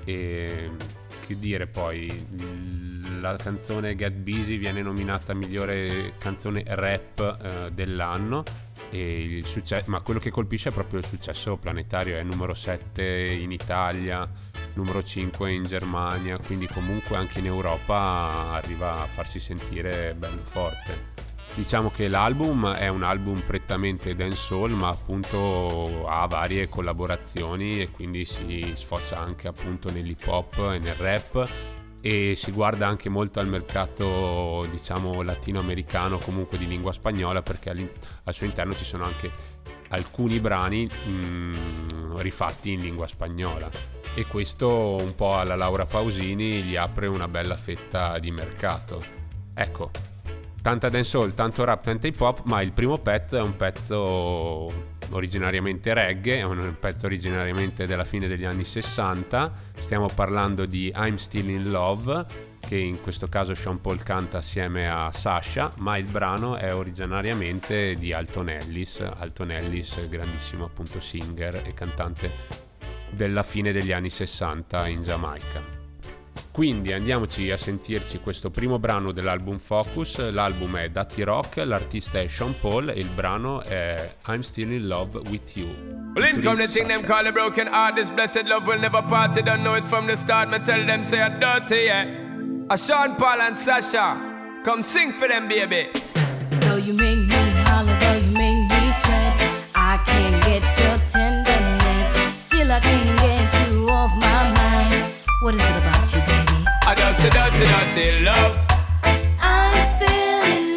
e che dire, poi la canzone Get Busy viene nominata migliore canzone rap eh, dell'anno, e il successo, ma quello che colpisce è proprio il successo planetario, è numero sette in Italia, numero cinque in Germania, quindi comunque anche in Europa arriva a farsi sentire bello forte. Diciamo che l'album è un album prettamente dancehall, ma appunto ha varie collaborazioni e quindi si sfocia anche appunto nell'hip hop e nel rap, e si guarda anche molto al mercato, diciamo, latinoamericano, comunque di lingua spagnola, perché al suo interno ci sono anche alcuni brani mh, rifatti in lingua spagnola, e questo un po' alla Laura Pausini gli apre una bella fetta di mercato. Ecco, tanta dancehall, tanto rap, tanta hip hop, ma il primo pezzo è un pezzo originariamente reggae, è un pezzo originariamente della fine degli anni sessanta. Stiamo parlando di I'm Still in Love, che in questo caso Sean Paul canta assieme a Sasha, ma il brano è originariamente di Alton Ellis. Alton Ellis, grandissimo appunto singer e cantante della fine degli anni sessanta in Giamaica. Quindi andiamoci a sentirci questo primo brano dell'album Focus. L'album è Dirty Rock, l'artista è Sean Paul e il brano è I'm Still in Love with You. Well, in come the thing them call a broken heart, this blessed love will never part. You don't know it from the start, me tell them say I'm dirty, yeah. A Sean Paul and Sasha, come sing for them, baby. Though you make me holler, though you make me sweat, I can't get your tenderness, still I can't get you off my mind. What is it about you, baby? I just a dirty, dirty love. I'm still in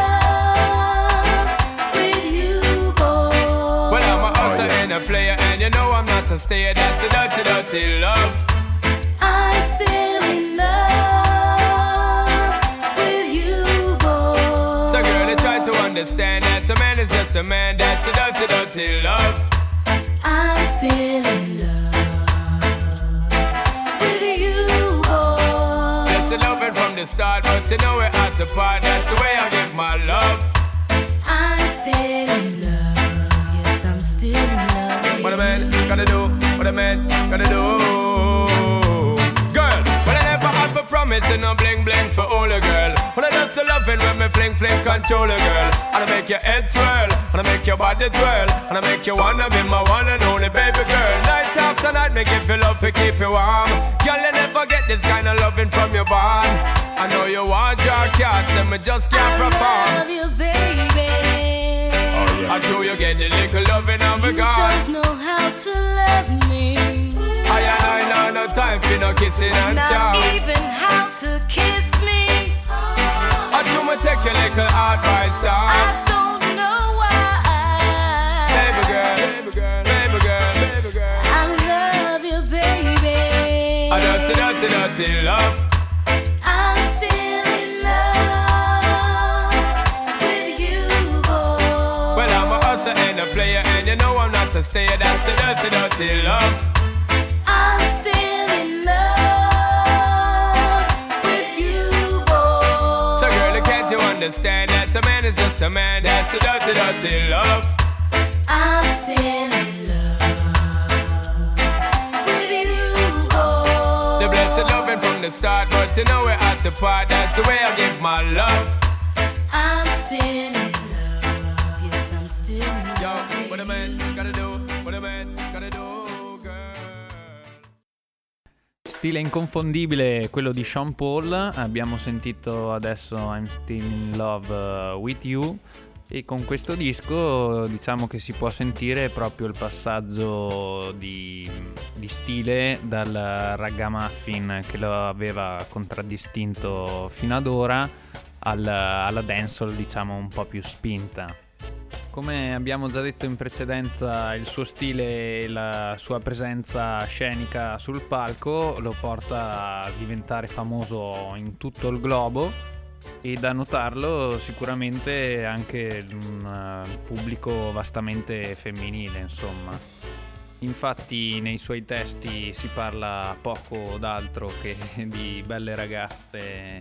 love with you, boy. Well, I'm a hustler and a player, and you know I'm not a stayer. That's a dirty, dirty love. I'm still in love with you, boy. So girl, you try to understand that a man is just a man. That's a dirty, dirty love. I'm still in love with you, boy. start, but you know we're at the part. That's the way I give my love. I'm still in love. Yes, I'm still in love with What a man you. gotta do, what a man gotta do. Girl, when I never had for promise, and no bling bling for all a girl. When I just love it when me fling fling control a girl. And I make your head swirl, and I make your body twirl, and I make you wanna be my one and only baby girl. Night after night, me give you love to keep you warm. Girl, you never get this kind of loving from your bond. I know you want your cats, and me just can't I perform. love you, baby. I do you get the little loving of a You God. don't know how to love me. I and I know no time for no kissing and Not chow. even how to kiss me. I do me take your little advice down. I don't know why. Baby girl, baby girl, baby girl, baby girl. I love you, baby. I don't see dirty, dirty love. I'm still in love with you, boy. Well, I'm a hustler and a player, and you know I'm not a stayer. That's the dirty, dirty love. I'm still in love with you, boy. So girl, can't you understand that a man is just a man? That's the dirty, dirty love. I'm still in love with you, boy. The blessed loving from the start, but you know we're at the part. That's the way I give my love. I'm still in love. Yes, I'm still in Yo, love. what a with man you. gotta do, what a man gotta do, girl. Stile inconfondibile quello di Sean Paul. Abbiamo sentito adesso I'm Still in Love uh, with You, e con questo disco diciamo che si può sentire proprio il passaggio di, di stile dal ragamuffin che lo aveva contraddistinto fino ad ora al, alla dancehall, diciamo un po' più spinta. Come abbiamo già detto in precedenza, il suo stile e la sua presenza scenica sul palco lo porta a diventare famoso in tutto il globo, e da notarlo sicuramente anche un uh, pubblico vastamente femminile, insomma. Infatti nei suoi testi si parla poco d'altro che di belle ragazze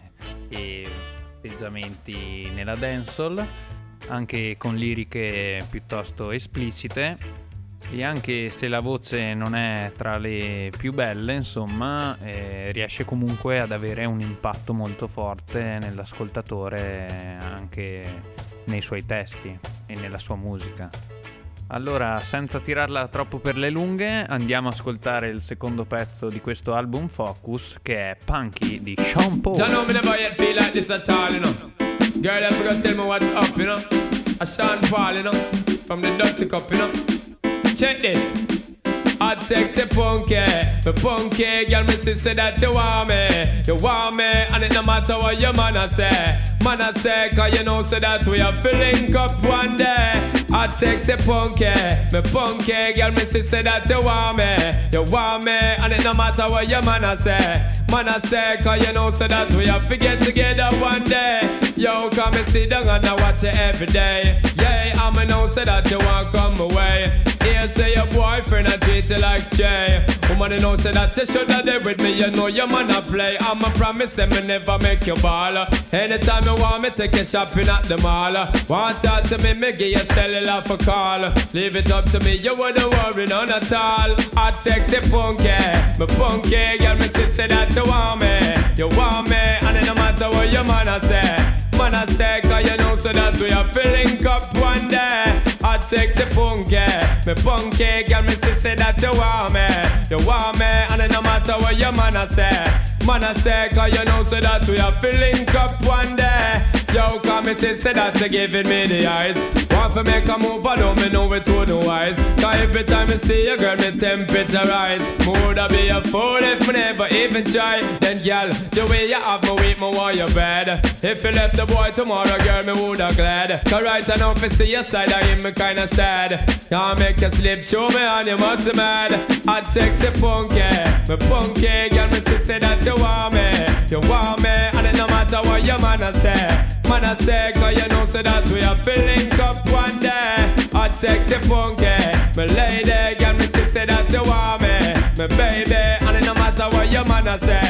e atteggiamenti nella dancehall, anche con liriche piuttosto esplicite, e anche se la voce non è tra le più belle, insomma, eh, riesce comunque ad avere un impatto molto forte nell'ascoltatore anche nei suoi testi e nella sua musica. Allora, senza tirarla troppo per le lunghe, andiamo a ascoltare il secondo pezzo di questo album Focus, che è Punky di Sean Paul. You know me never yet feel like this at all, you know. Girl, I forgot to tell me what's up, you know. A Sean Paul, you know, from the Dirty Cup, you know. Check this. Hot sexy punky, the punky girl, me see say that you want me, you want me, and it no matter what your man a say, man a say, cause you know say that we are link up one day. Hot sexy punky, me punky girl, me see say that you want me, you want me, and it no matter what your man a say, man a say, cause you know say that we are get together one day. Yo, come and sit down and I watch it every day. Yeah, I'ma know say that you want come away. Here say your boyfriend a treat you like stray. Woman you know say that you shoulda there with me. You know your man a play. I'ma promise say me never make you ball. Anytime you want me take you shopping at the mall. Want talk to me, me give you cellular for call. Leave it up to me, you wouldn't worry none at all. Hot sexy punky, me punky girl, me see say that you want me, you want me, and it no matter what your man a say. Man a say, cause you know so that we are filling up one day. Hot sexy punky, me punky girl, me see say that you want me, you want me, and it no matter what your man a say. Man a say, cause you know so that we are filling up one day. Yo, come me see say that you giving me the eyes. Want to make a move, I don't me know it to the wise. Cause every time I see you, girl, me temperature rise. Woulda be a fool if me never even try. Then, girl, the way you have me weak, me want you bad. If you left the boy tomorrow, girl, me woulda glad. Cause right now, if I see your side, I hear me kinda sad. Can't make you slip through me and you must be mad. Hot sexy punky, me punky, girl, me see say that you want me, you want me, and it no matter what your man a say. Man a say, cause you know so that we are filling up one day. Hot sexy punky, me lady, girl, me see say that you want me, me baby, and it no matter what your man a say.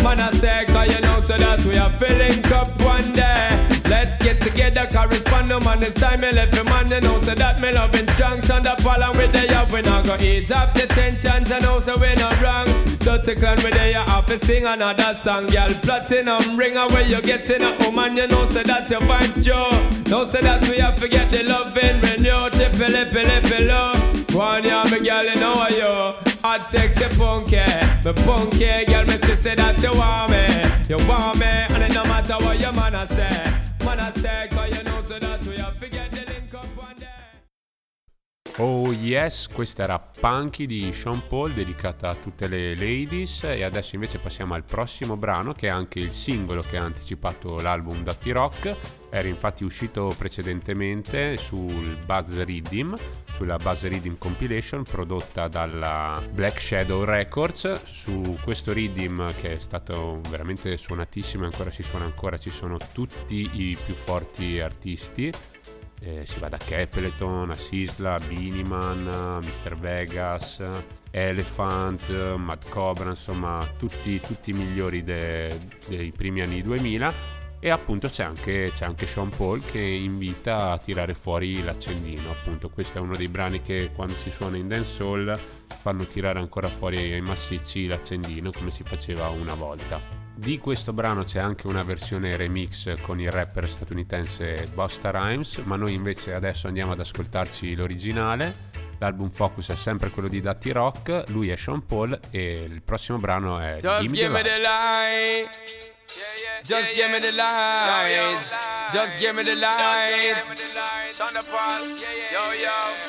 Man, I say, cause you know, so that we are filling up one day. Let's get together, correspond, no man, it's time me left your man, you know, so that me loving strong. Son the fall with the up, we not go ease up the tensions, and know, so we not wrong. Dirty clan with the up, to sing another song, girl. Platinum ring away, you getting a woman, you know, so that your vibes show. Know, so that we have to get the loving, renew, tippy, lippy, lippy, low. One year, me girl, you know, you hot, sexy, funky, me funky, girl, me say that you want me, you want me, and it no matter what your man I say. Man, I say, cause you know, so that we have to get the link up one day. Oh yes, questa era Punky di Sean Paul, dedicata a tutte le ladies. E adesso invece passiamo al prossimo brano, che è anche il singolo che ha anticipato l'album Dirty Rock. Era infatti uscito precedentemente sul Buzz Riddim, sulla Buzz Riddim Compilation prodotta dalla Black Shadow Records. Su questo Riddim, che è stato veramente suonatissimo e ancora si suona ancora, ci sono tutti i più forti artisti. Eh, si va da Capleton a Sisla, Beanie-Man, mister Vegas, Elephant, Mad Cobra, insomma tutti, tutti i migliori de, dei primi anni duemila. E appunto c'è anche, c'è anche Sean Paul che invita a tirare fuori l'accendino. Appunto questo è uno dei brani che quando si suona in dancehall fanno tirare ancora fuori ai massicci l'accendino, come si faceva una volta. Di questo brano c'è anche una versione remix con il rapper statunitense Busta Rhymes, ma noi invece adesso andiamo ad ascoltarci l'originale. L'album focus è sempre quello di Dirty Rock, lui è Sean Paul e il prossimo brano è Just give me the light. Just give me the light. Just give me the light. Yo,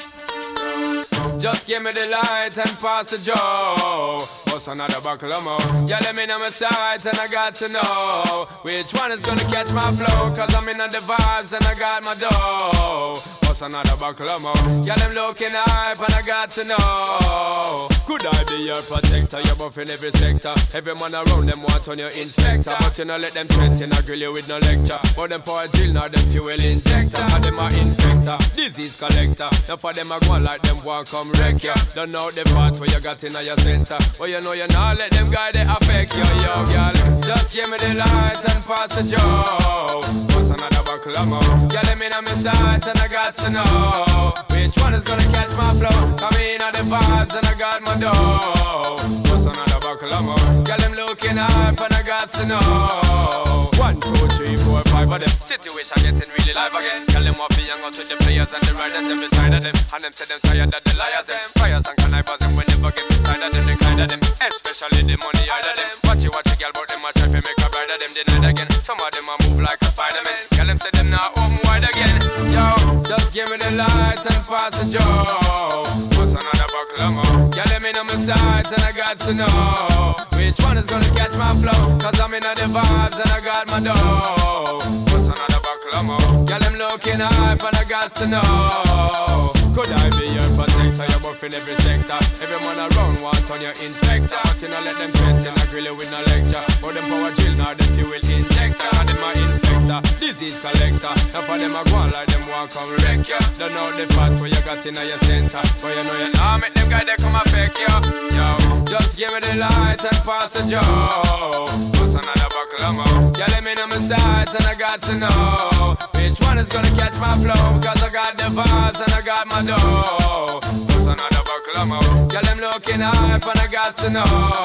yo. Just give me the light and pass the joe. What's another buckle of more? Yeah, let me know my sight and I got to know which one is gonna catch my flow. Cause I'm in the vibes and I got my dough. What's another buckle of more? Yeah, them looking hype and I got to know. Could I be your protector? You're buff in every sector. Every man around them want on your inspector. But you know let them threaten, I grill you with no lecture. But them for a drill, now them fuel injector. And them a infector, disease collector. Now for them a go on like them want come wreck ya. Don't know the part where you got in your center. But you know you not let them guy they affect you, yo, girl. Just give me the light and pass the joe. What's another buckle of more? Yeah, let me know my sight and I got to know which one is gonna catch my flow. Come in on the vibes and I got my dough. What's another buckle of more? Girl, them looking hype and I got to know. One, two, three, four, five of them. Situation getting really live again. Girl, them want to hang out with the players and the riders them beside of them. And them say them tired of the liars them. Fires and connivers them when never get inside of them. They kind of them, especially the money out of them. Watch it, watch it, girl, but them a try to make a bride of them denied again. Some of them a move like a Spider-Man. Girl, them say them not home wide again. Yo, just give me the light and pass the joe. What's another buckle of more? Girl, let me know my sight and I got to know which one is gonna catch my flow. Cause I'm in the vibes and I got my dough. What's another buckle of more? Girl, them looking hype and I got to know. Could I be your protector? You're buff in every sector. Every man around want on your inspector. But you know let them threaten, I grill you with no lecture. But them power drill, now them fuel injector. And them a infector, disease collector. Now for them a go on like them want come wreck ya. Don't know the part where you got in your center. But you know you now make them guy they come affect ya. Yo, just give me the light and pass the joe. What's another buckle of more? Yeah, let me know my sights and I got to know which one is gonna catch my flow. Cause I got the vibes and I got my dough. What's another buckle of more? Yeah, them looking hype and I got to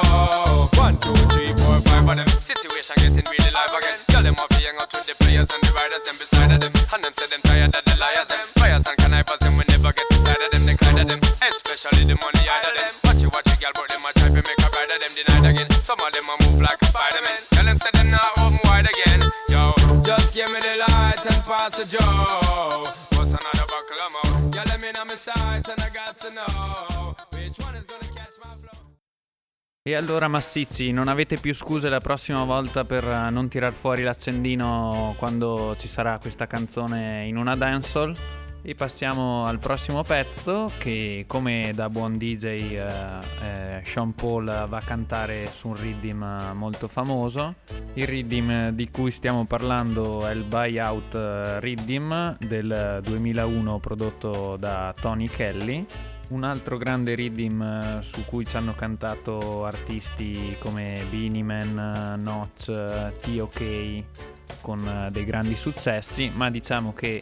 know. One, two, three, four, five of them. Situation getting really live again. Girl, them off hang out with the players and the riders them beside of them. And them say them tired of the liars them. Fires and connivers them we never get inside of them. They kind of them, especially the money out of them. Watch it, watch it, girl, but them a try to make a bride of them denied again. Some of them a move like a Spider-Man. Tell them say them not open wide again. Yo, just give me the light and pass the joe. What's another buckle of more? Yeah, let me know my sight and I got to know which one is gonna catch my flow. E allora massicci, non avete più scuse la prossima volta per non tirar fuori l'accendino quando ci sarà questa canzone in una dancehall. E passiamo al prossimo pezzo che, come da buon D J, eh, eh, Sean Paul va a cantare su un riddim molto famoso. Il riddim di cui stiamo parlando è il Buyout Riddim del duemilauno, prodotto da Tony Kelly. Un altro grande riddim su cui ci hanno cantato artisti come Beenie Man, Notch, T O K, con dei grandi successi, ma diciamo che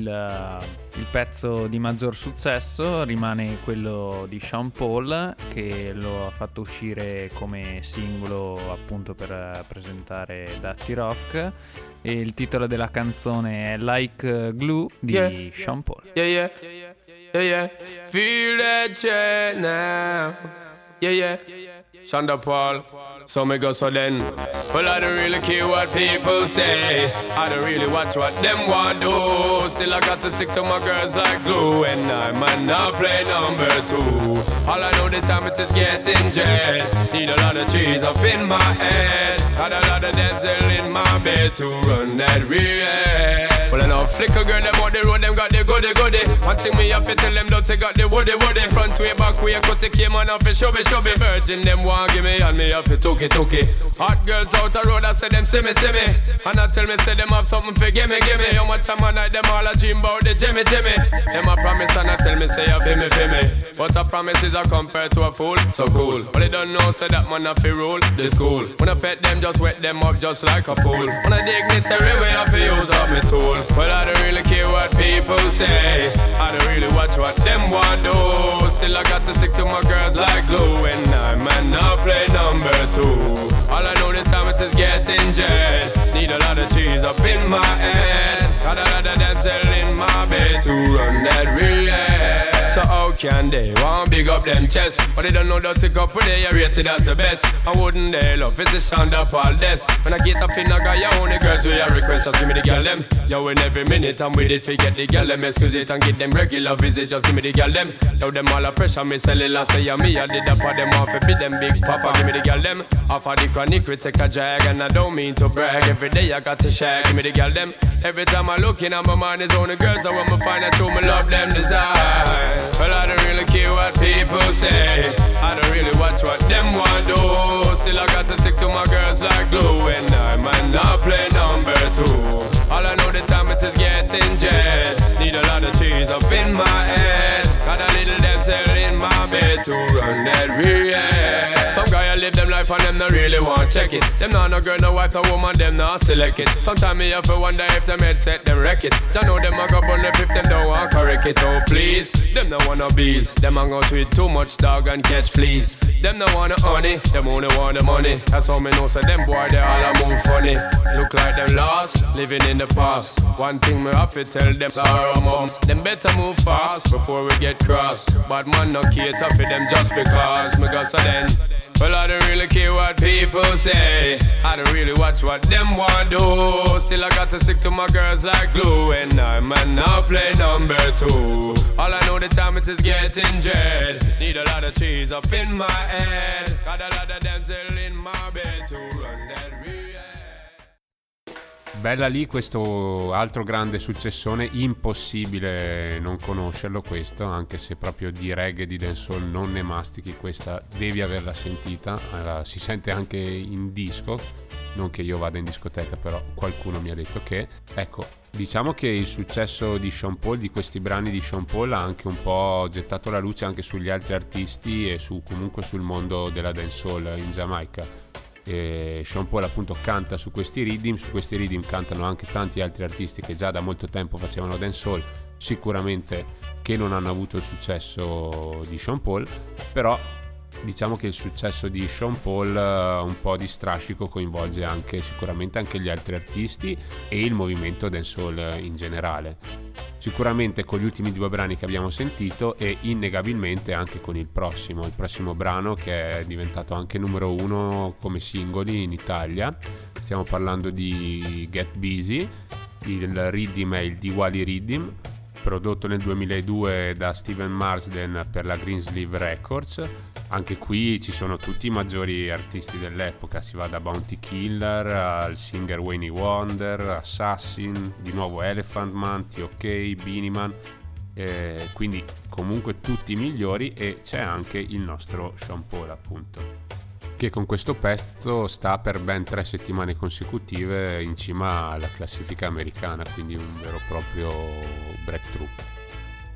il, il pezzo di maggior successo rimane quello di Sean Paul, che lo ha fatto uscire come singolo appunto per presentare Dirty Rock, e il titolo della canzone è Like Glue di yeah. Sean Paul. Yeah, yeah, yeah, yeah. Feel that jet now. Yeah, yeah. Sean Paul. So me go so then. Well, I don't really care what people say. I don't really watch what them want do. Still I got to stick to my girls like glue. And I might not play number two. All I know the time it is getting jet. Need a lot of trees up in my head. Got a lot of damsel in my bed to run that real. Well, I know flicker girl, them on the road, them got the goody goody. One thing me have to tell them, don't they got the woody woody. Front way, back way, cut the came on off and shove it, shove it. Virgin, them want give me and me have to took it, took it. Hot girls out the road, I say them see me, see me. And I tell me, say them have something for gimme, gimme. How much time I night, them all a dream about the Jimmy, Jimmy. Them a promise and I tell me, say you feel me, feel me. But a promise is a compared to a fool, so cool. But they don't know, say that man have to rule the school. When I pet them, just wet them up just like a pool. When I dignitary way, I have to use up my tool. Well, I don't really care what people say. I don't really watch what them want do. Still I got to stick to my girls like glue. And I might not play number two. All I know the time it is getting jet. Need a lot of cheese up in my head. Got a lot of damsel in my bed to run that real. So how can they want big up them chest? But they don't know that to go for they are rated as the best. I wouldn't they love it's the sound of all this. When I get up in I got your own girls with your request. Just give me the girl them. Yo, in every minute I'm with it. Forget the girl them. Excuse it and get them regular visit. Just give me the girl them. Yo, them all a pressure. Me sell it last say me. I did that for them off. Be them big papa. Give me the girl them. Off of the chronic we take a drag. And I don't mean to brag. Every day I got to share. Give me the girl them. Every time I look in my mind is only girls. I want me find out who me love them desire. Well, I don't really care what people say. I don't really watch what them want do. Still I got to stick to my girls like glue. And I might not play number two. All I know the time it is getting jet. Need a lot of cheese up in my head. Got a little damsel in my bed to run that real. Some guy I live them life and them not really want check it. Them not no girl, no wife, no woman, them not select it. Sometimes me have to wonder if them head set them wreck it. I know them a go bun if them don't want correct it. Oh please, them no wanna bees. Them hang out with too much dog and catch fleas. Them no wanna honey, them only want the money. That's how me know so them boy they all a move funny. Look like them lost, living in the past. One thing me have to tell them sorrow mom. Them better move fast before we get crossed. Bad man no cater for them just because me got so then. Well, I don't really care what people say. I don't really watch what them want do. Still I got to stick to my girls like glue. And I might not play number two. All I know the time it is getting jet. Need a lot of cheese up in my head. Got a lot of damsel in my bed to run that real. Bella lì questo altro grande successone, impossibile non conoscerlo questo, anche se proprio di reggae e di dancehall non ne mastichi, questa devi averla sentita, allora, si sente anche in disco, non che io vada in discoteca, però qualcuno mi ha detto che, ecco, diciamo che il successo di Sean Paul, di questi brani di Sean Paul, ha anche un po' gettato la luce anche sugli altri artisti e su comunque sul mondo della dancehall in Giamaica. E Sean Paul appunto canta su questi riddim, su questi riddim cantano anche tanti altri artisti che già da molto tempo facevano dancehall, sicuramente che non hanno avuto il successo di Sean Paul, però diciamo che il successo di Sean Paul uh, un po' di strascico coinvolge anche sicuramente anche gli altri artisti e il movimento dancehall in generale. Sicuramente con gli ultimi due brani che abbiamo sentito e innegabilmente anche con il prossimo, il prossimo brano che è diventato anche numero uno come singoli in Italia. Stiamo parlando di Get Busy, il riddim è il Diwali Riddim, prodotto nel duemiladue da Steven Marsden per la Greensleeve Records. Anche qui ci sono tutti i maggiori artisti dell'epoca, si va da Bounty Killer al singer Wayne Wonder, Assassin, di nuovo Elephant Man, T O K, Beenie Man, eh, quindi comunque tutti i migliori, e c'è anche il nostro Sean Paul appunto, che con questo pezzo sta per ben tre settimane consecutive in cima alla classifica americana, quindi un vero e proprio breakthrough.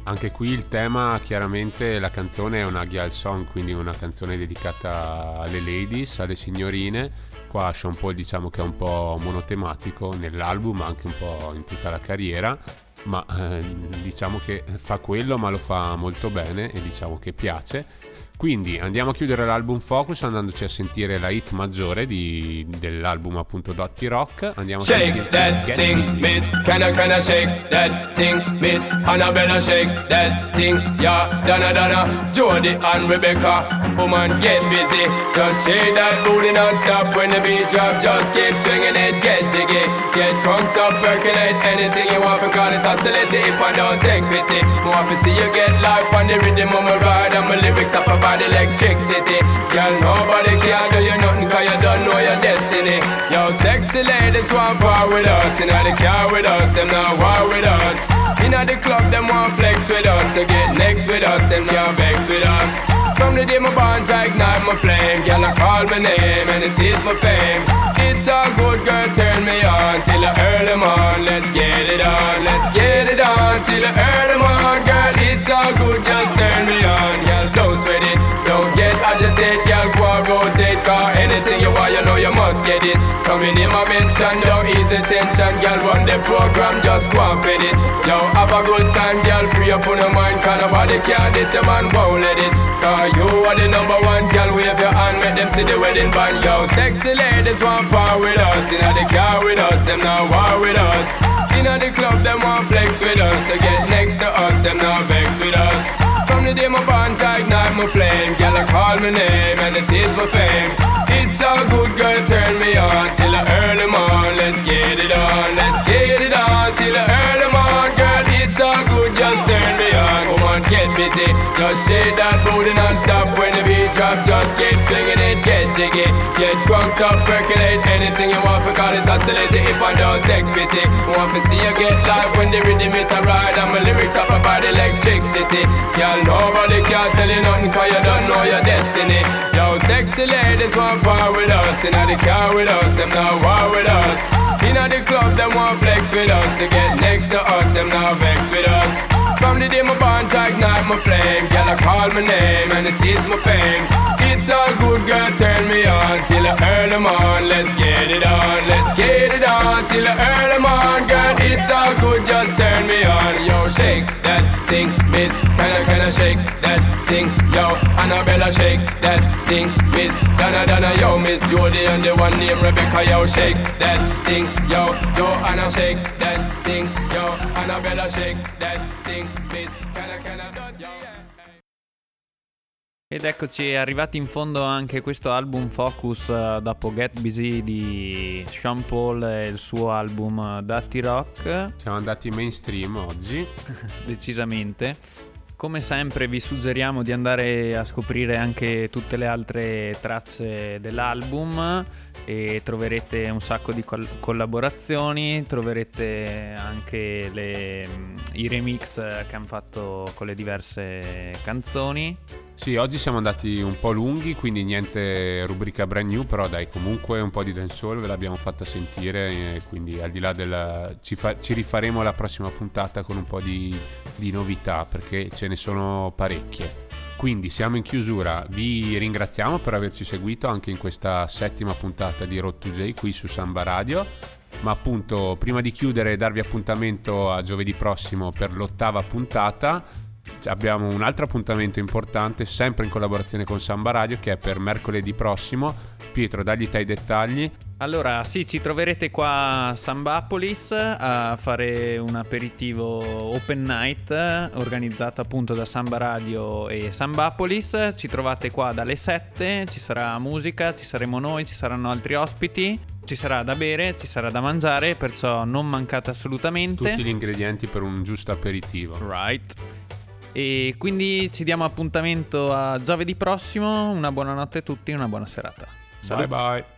Anche qui il tema, chiaramente la canzone è una girl song, quindi una canzone dedicata alle ladies, alle signorine. Qua Sean Paul diciamo che è un po' monotematico nell'album, anche un po' in tutta la carriera, ma eh, diciamo che fa quello, ma lo fa molto bene e diciamo che piace. Quindi andiamo a chiudere l'album Focus andandoci a sentire la hit maggiore di, dell'album appunto Dotty Rock. Andiamo a Shake that thing, miss. Can I, can I shake that thing, miss? Annabella, shake that thing, yeah. Donna, Donna, Jody and Rebecca. Woman, get busy. Just shake that booty non-stop when the beat drop. Just keep swinging it, get jiggy. Get crunked up, percolate anything you want. Because it oscillate if I don't take pity. More to see you get life on the rhythm of my ride. And my lyrics up about electricity. Girl, nobody can do you nothing cause you don't know your destiny. Yo, sexy ladies want part with us. Inna the car with us, them not war with us. Inna the club, them want flex with us. To get next with us, them can't vex with us. From the day my bond, I ignite my flame. Girl, I call my name and it is my fame. It's all good, girl, turn me on till I earn them on. Let's get it on, let's get it on till I earn them on. Girl, it's all good, just turn me on. Girl, don't sweat it, don't get agitated. Girl, go and rotate, cause anything you want, you know you must get it. Coming in my mention, don't ease the tension. Girl, run the program, just go and fit it. Yo, have a good time, girl, free up on your mind. Cause nobody can this, your man won't let it. Cause you are the number one, girl, wave your hand, make them see the wedding band. Yo, sexy ladies want part with us. Inna the car with us, them not war with us. Inna the club, them want flex with us. To get next to us, them not vex with us. From the day my bond, I ignite my flame. Girl, I call my name and it is my fame. It's all good, girl, turn me on till I earn them on. Let's get it on, let's get it on till I earn them on. Girl, it's all good, just turn me on. Woman, get busy, just shake that booty non-stop. When the beat drop, just keep swinging it, get jiggy. Get crunked up, percolate anything you want. Forgot it, oscillate it if I don't take pity. Want to see you get live when the rhythm is a ride. And my lyrics up about electricity. Girl, nobody can tell you nothing cause you don't know your destiny. Yo, sexy ladies want part with us. Inna the car with us, them not war with us. Inna the club, them want flex with us. To get next to us, them not vex with us. From the day my bond, I ignite my flame. Girl, I call my name and it is my fame. It's all good, girl, turn me on till I earn them on. Let's get it on, let's get it on till I earn them on. Girl, it's all good, just turn me on. Yo, shake that thing, miss. Can I, can I shake that thing? Yo, Annabella, shake that thing, miss. Donna, Donna, yo, Miss Jody and the one named Rebecca. Yo, shake that thing, yo, Joanna, shake that thing, yo, Annabella, shake that thing, miss. Can I, can I, yo. Ed eccoci arrivati in fondo anche questo album Focus uh, dopo Get Busy di Sean Paul e il suo album uh, Dotty Rock. Siamo andati mainstream oggi. Decisamente. Come sempre vi suggeriamo di andare a scoprire anche tutte le altre tracce dell'album e troverete un sacco di col- collaborazioni, troverete anche le, i remix che hanno fatto con le diverse canzoni. Sì, oggi siamo andati un po' lunghi, quindi niente rubrica brand new, però dai, comunque un po' di dancehall ve l'abbiamo fatta sentire, e quindi al di là del... Ci, fa, ci rifaremo la prossima puntata con un po' di, di novità, perché ce ne sono parecchie. Quindi siamo in chiusura, vi ringraziamo per averci seguito anche in questa settima puntata di Road to J qui su Samba Radio. Ma appunto, prima di chiudere e darvi appuntamento a giovedì prossimo per l'ottava puntata, abbiamo un altro appuntamento importante sempre in collaborazione con Samba Radio, che è per mercoledì prossimo. Pietro, dagli te i dettagli. Allora sì, ci troverete qua a Sambapolis a fare un aperitivo open night organizzato appunto da Samba Radio e Sambapolis. Ci trovate qua dalle sette, ci sarà musica, ci saremo noi, ci saranno altri ospiti, ci sarà da bere, ci sarà da mangiare, perciò non mancate assolutamente. Tutti gli ingredienti per un giusto aperitivo. Right. E quindi ci diamo appuntamento a giovedì prossimo. Una buona notte a tutti, una buona serata. Salut. Bye bye.